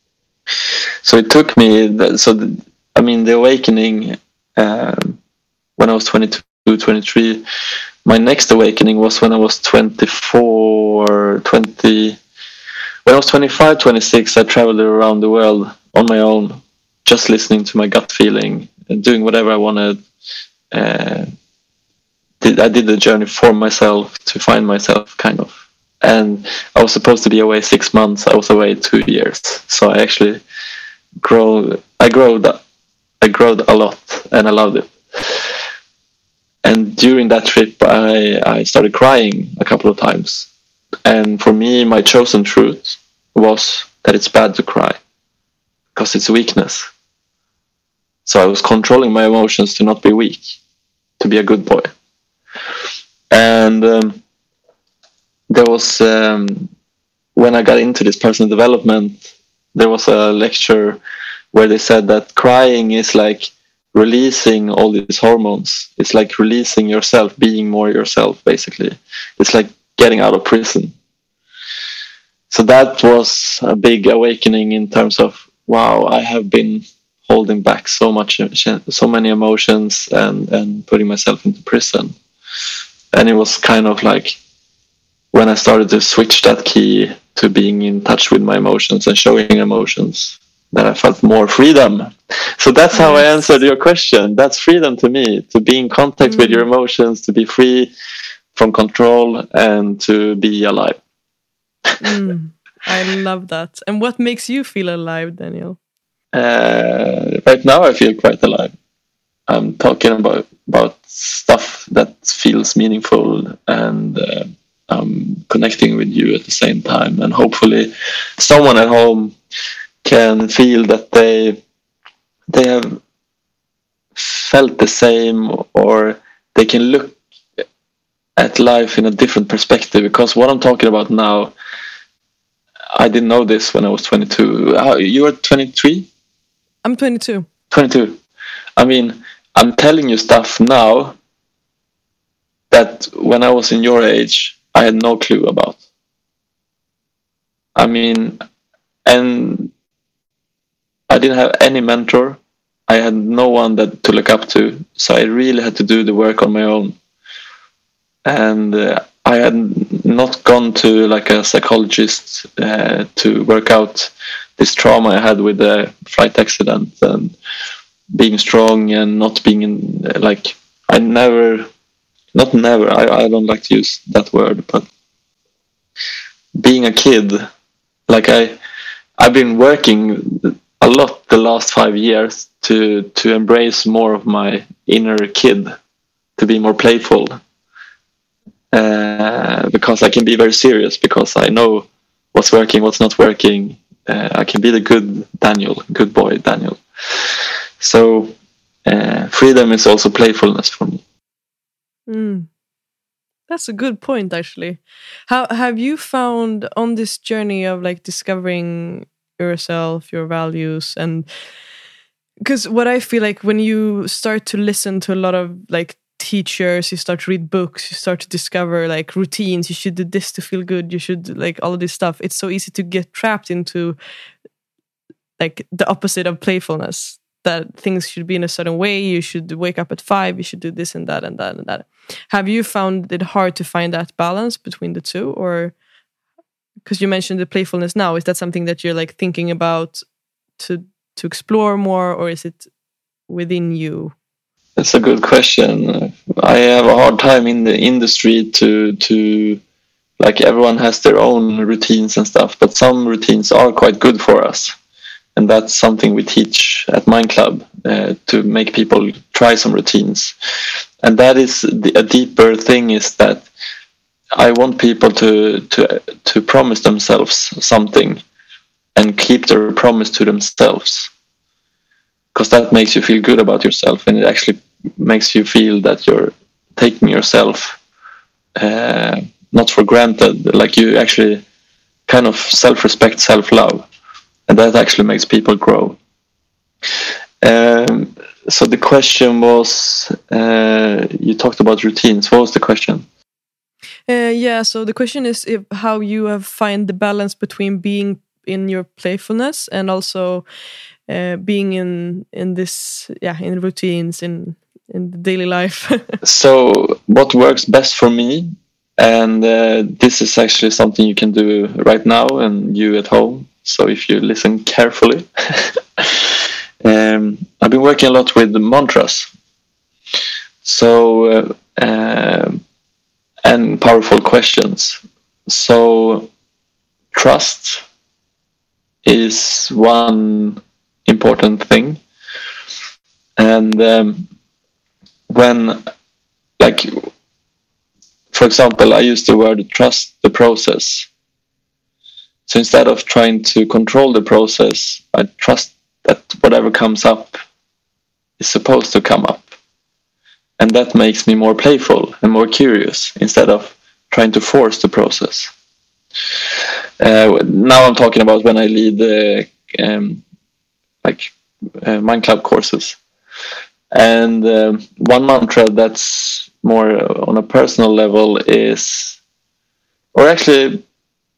So it took me, the awakening, when I was 22, 23, my next awakening was when I was 24, 20. When I was 25, 26, I traveled around the world on my own, just listening to my gut feeling and doing whatever I wanted. I did the journey for myself, to find myself, kind of. And I was supposed to be away 6 months. I was away 2 years. So I actually grew a lot, and I loved it. And during that trip, I started crying a couple of times. And for me, my chosen truth was that it's bad to cry, because it's weakness. So I was controlling my emotions to not be weak, to be a good boy. And there was, when I got into this personal development, there was a lecture where they said that crying is like releasing all these hormones. It's like releasing yourself, being more yourself, basically. It's like getting out of prison. So that was a big awakening in terms of, wow, I have been holding back so many emotions and putting myself into prison. And it was kind of like when I started to switch that key to being in touch with my emotions and showing emotions, that I felt more freedom. So that's how I answered your question. That's freedom to me, to be in contact with your emotions, to be free from control, and to be alive. I love that. And what makes you feel alive, Daniel? Right now I feel quite alive. I'm talking about stuff that feels meaningful, and I'm connecting with you at the same time. And hopefully someone at home can feel that they have felt the same, or they can look at life in a different perspective. Because what I'm talking about now, I didn't know this when I was 22. You were 23? I'm 22. 22. I mean, I'm telling you stuff now that when I was in your age, I had no clue about. I mean, and I didn't have any mentor. I had no one to look up to. So I really had to do the work on my own. And I had not gone to like a psychologist to work out this trauma I had with the flight accident and being strong and not being in, like, I don't like to use that word, but being a kid, like I've been working a lot the last 5 years to embrace more of my inner kid, to be more playful, because I can be very serious, because I know what's working, what's not working. I can be the good boy Daniel. So freedom is also playfulness for me. That's a good point, actually. How have you found on this journey of like discovering yourself, your values, and because what I feel like when you start to listen to a lot of like teachers, you start to read books, you start to discover like routines, you should do this to feel good, you should like all of this stuff, it's so easy to get trapped into like the opposite of playfulness, that things should be in a certain way, you should wake up at 5, you should do this and that and that and that. Have you found it hard to find that balance between the two? Or because you mentioned the playfulness now, is that something that you're like thinking about to explore more, or is it within you? That's a good question. I have a hard time in the industry to like, everyone has their own routines and stuff, but some routines are quite good for us. And that's something we teach at Mind Club, to make people try some routines. And that is a deeper thing, is that I want people to promise themselves something and keep their promise to themselves. Because that makes you feel good about yourself, and it actually makes you feel that you're taking yourself not for granted. Like, you actually kind of self-respect, self-love. And that actually makes people grow. So the question was, you talked about routines. What was the question? Yeah, so the question is how you have find the balance between being in your playfulness and also being in this, in routines, in the daily life. So what works best for me, and this is actually something you can do right now, and you at home. So if you listen carefully, I've been working a lot with the mantras. So and powerful questions. So trust is one important thing, and when, like, for example, I use the word trust the process. So instead of trying to control the process, I trust that whatever comes up is supposed to come up. And that makes me more playful and more curious, instead of trying to force the process. Now I'm talking about when I lead Mind Club courses. And one mantra that's more on a personal level is, or actually,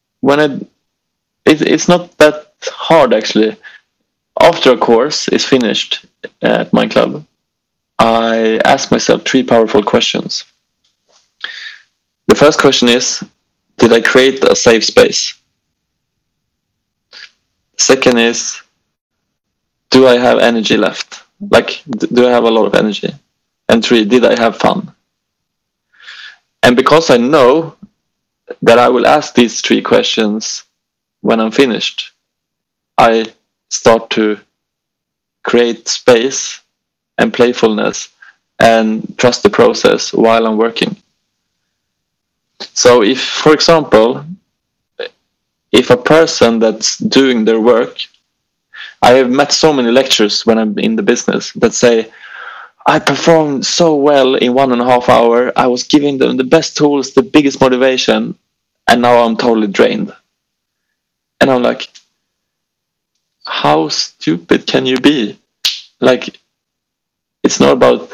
it's not that hard actually. After a course is finished at Mind Club, I ask myself 3 powerful questions. The first question is, did I create a safe space? Second is, do I have energy left? Like, do I have a lot of energy? And 3, did I have fun? And because I know that I will ask these 3 questions when I'm finished, I start to create space and playfulness and trust the process while I'm working. So if, for example, if a person that's doing their work, I have met so many lecturers when I'm in the business that say, I performed so well in 1.5 hours, I was giving them the best tools, the biggest motivation, and now I'm totally drained. And I'm like, how stupid can you be? Like, it's not about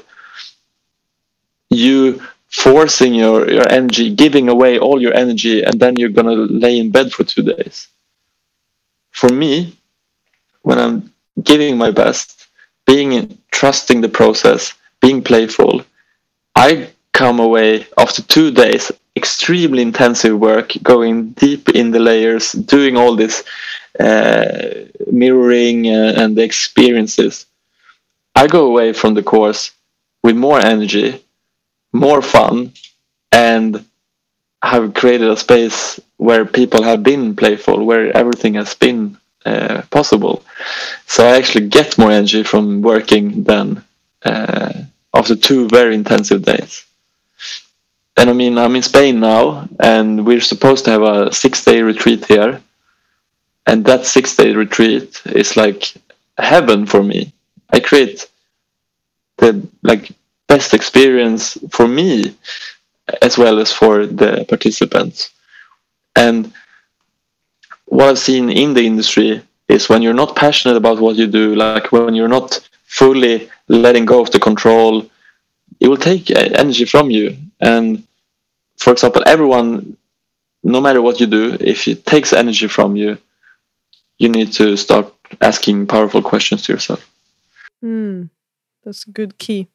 you forcing your energy, giving away all your energy, and then you're going to lay in bed for 2 days. For me, when I'm giving my best, trusting the process, being playful, I come away after 2 days, extremely intensive work, going deep in the layers, doing all this mirroring and the experiences. I go away from the course with more energy, more fun, and have created a space where people have been playful, where everything has been possible. So I actually get more energy from working than after 2 very intensive days. And I mean, I'm in Spain now, and we're supposed to have a 6-day retreat here. And that 6-day retreat is like heaven for me. I create the best experience for me as well as for the participants. And what I've seen in the industry is when you're not passionate about what you do, like when you're not fully letting go of the control, it will take energy from you. And for example, everyone, no matter what you do, if it takes energy from you, you need to start asking powerful questions to yourself. That's a good key.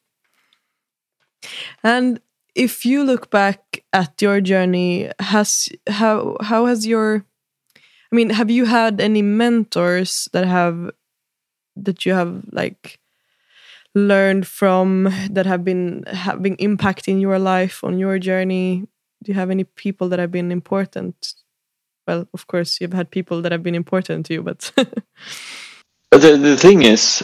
And if you look back at your journey, how has your, I mean, have you had any mentors that you have like learned from, that have been having impact in your life on your journey? Do you have any people that have been important? Well, of course, you've had people that have been important to you, but the thing is,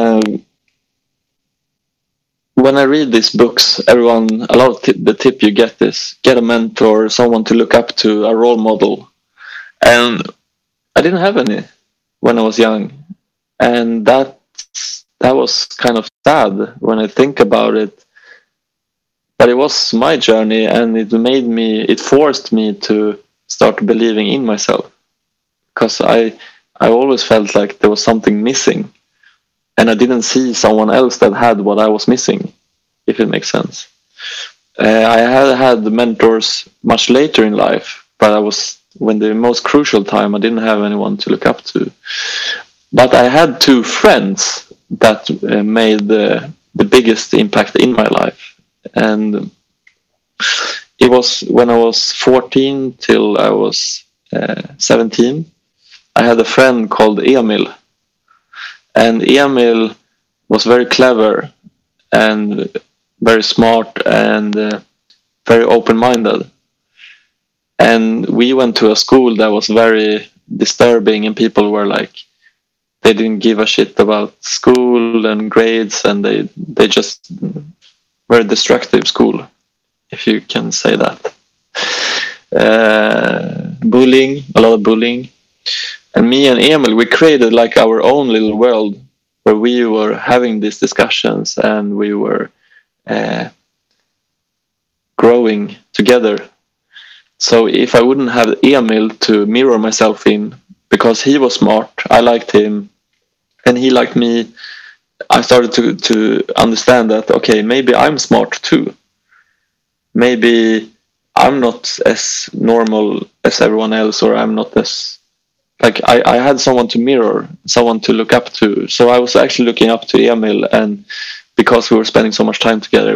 when I read these books, a lot of the tip you get is get a mentor, someone to look up to, a role model. And I didn't have any when I was young. And that was kind of sad when I think about it. But it was my journey, and it forced me to start believing in myself. Because I always felt like there was something missing. And I didn't see someone else that had what I was missing, if it makes sense. I had mentors much later in life, but when the most crucial time, I didn't have anyone to look up to. But I had 2 friends that made the biggest impact in my life. And it was when I was 14 till I was 17. I had a friend called Emil. And Emil was very clever and very smart and very open-minded. And we went to a school that was very disturbing, and people were like, they didn't give a shit about school and grades, and they just were a destructive school, if you can say that. Bullying, a lot of bullying. And me and Emil, we created like our own little world where we were having these discussions, and we were growing together. So if I wouldn't have Emil to mirror myself in, because he was smart, I liked him, and he liked me, I started to understand that, okay, maybe I'm smart too. Maybe I'm not as normal as everyone else, or I'm not as... Like, I had someone to mirror, someone to look up to. So I was actually looking up to Emil, and because we were spending so much time together,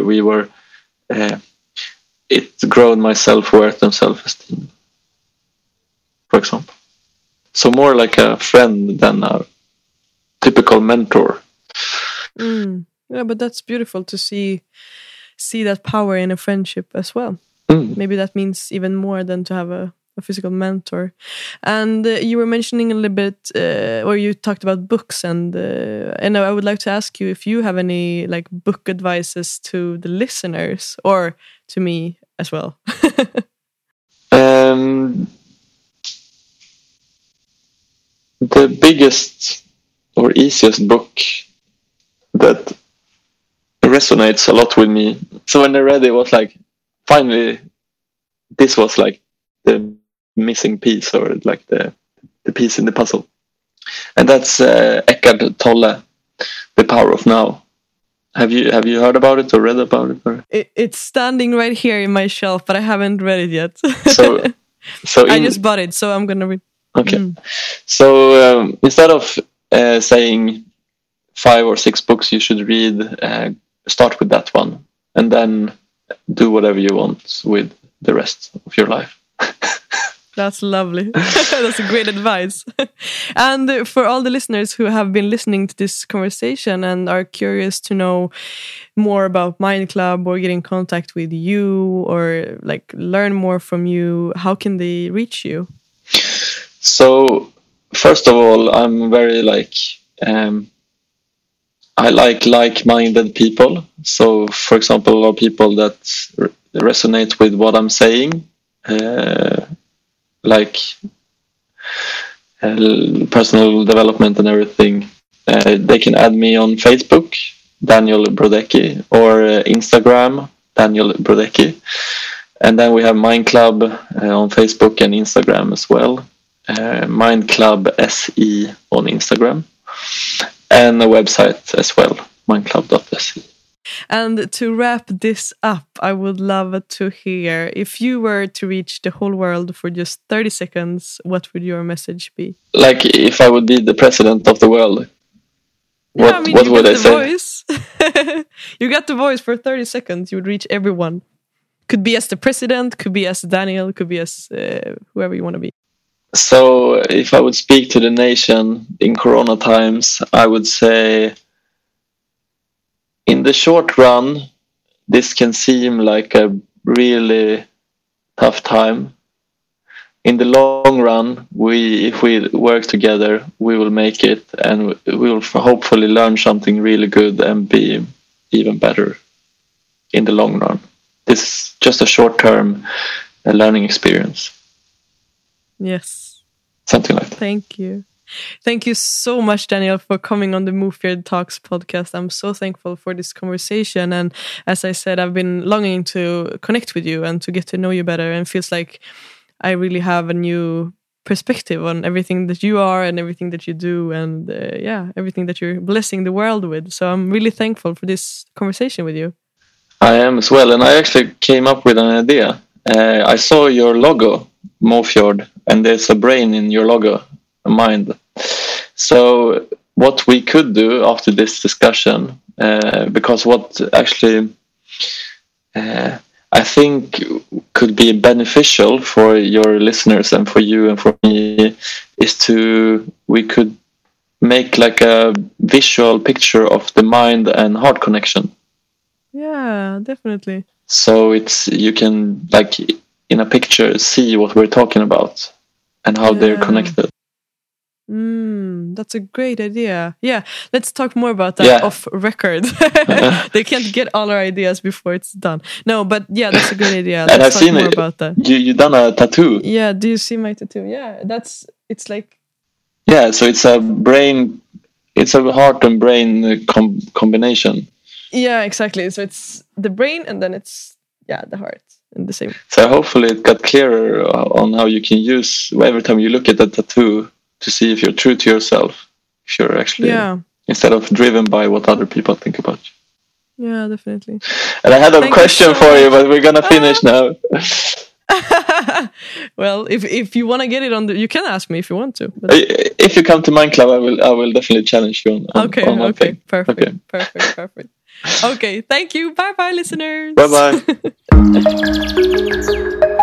it grew my self-worth and self-esteem, for example. So more like a friend than a typical mentor. Yeah, but that's beautiful to see that power in a friendship as well. Maybe that means even more than to have a physical mentor. And you were mentioning a little bit, or you talked about books, and I would like to ask you if you have any like book advices to the listeners, or to me as well. The biggest or easiest book that resonates a lot with me. So when I read it, was like, finally, this was like the missing piece, or like the piece in the puzzle. And that's Eckhart Tolle, The Power of Now. Have you heard about it or read about it? Or? It's standing right here in my shelf, but I haven't read it yet. So I just bought it, so I'm gonna read. Okay. So instead of saying 5 or 6 books you should read, start with that one, and then do whatever you want with the rest of your life. That's lovely. That's a great advice. And for all the listeners who have been listening to this conversation and are curious to know more about Mind Club or get in contact with you or like learn more from you, how can they reach you? So first of all, I'm very I like-minded people. So for example, a lot of people that resonate with what I'm saying, personal development and everything, they can add me on Facebook, Daniel Brodecki, or Instagram, Daniel Brodecki. And then we have Mind Club on Facebook and Instagram as well. Mind Club SE on Instagram. And a website as well, mindclub.se. And to wrap this up, I would love to hear, if you were to reach the whole world for just 30 seconds, what would your message be? Like if I would be the president of the world, what would I say? Voice. You got the voice for 30 seconds, you would reach everyone. Could be as the president, could be as Daniel, could be as whoever you want to be. So if I would speak to the nation in Corona times, I would say, in the short run, this can seem like a really tough time. In the long run, if we work together, we will make it, and we will hopefully learn something really good and be even better in the long run. This is just a short-term learning experience. Yes. Something like that. Thank you. Thank you so much, Daniel, for coming on the Move Feared Talks podcast. I'm so thankful for this conversation. And as I said, I've been longing to connect with you and to get to know you better. And it feels like I really have a new perspective on everything that you are and everything that you do. And everything that you're blessing the world with. So I'm really thankful for this conversation with you. I am as well. And I actually came up with an idea. I saw your logo, Mofjord, and there's a brain in your logo, a mind. So what we could do after this discussion, because what actually I think could be beneficial for your listeners and for you and for me, is we could make like a visual picture of the mind and heart connection. Yeah, definitely. So you can, like, in a picture, see what we're talking about and how they're connected. That's a great idea. Yeah, let's talk more about that off record. They can't get all our ideas before it's done. No, but yeah, that's a great idea. And I've seen more about that. You done a tattoo. Yeah, do you see my tattoo? Yeah, it's like... Yeah, so it's a heart and brain combination. Yeah, exactly. So it's the brain and then it's the heart in the same. So hopefully it got clearer on how you can use every time you look at the tattoo to see if you're true to yourself. If you're actually instead of driven by what other people think about you. Yeah, definitely. And I had a question for you, but we're gonna finish now. Well, if you want to get it on you can ask me if you want to. But... If you come to Mind Club, I will definitely challenge you on Okay, thing. Perfect. Okay. Perfect. Okay, thank you. Bye-bye, listeners. Bye-bye.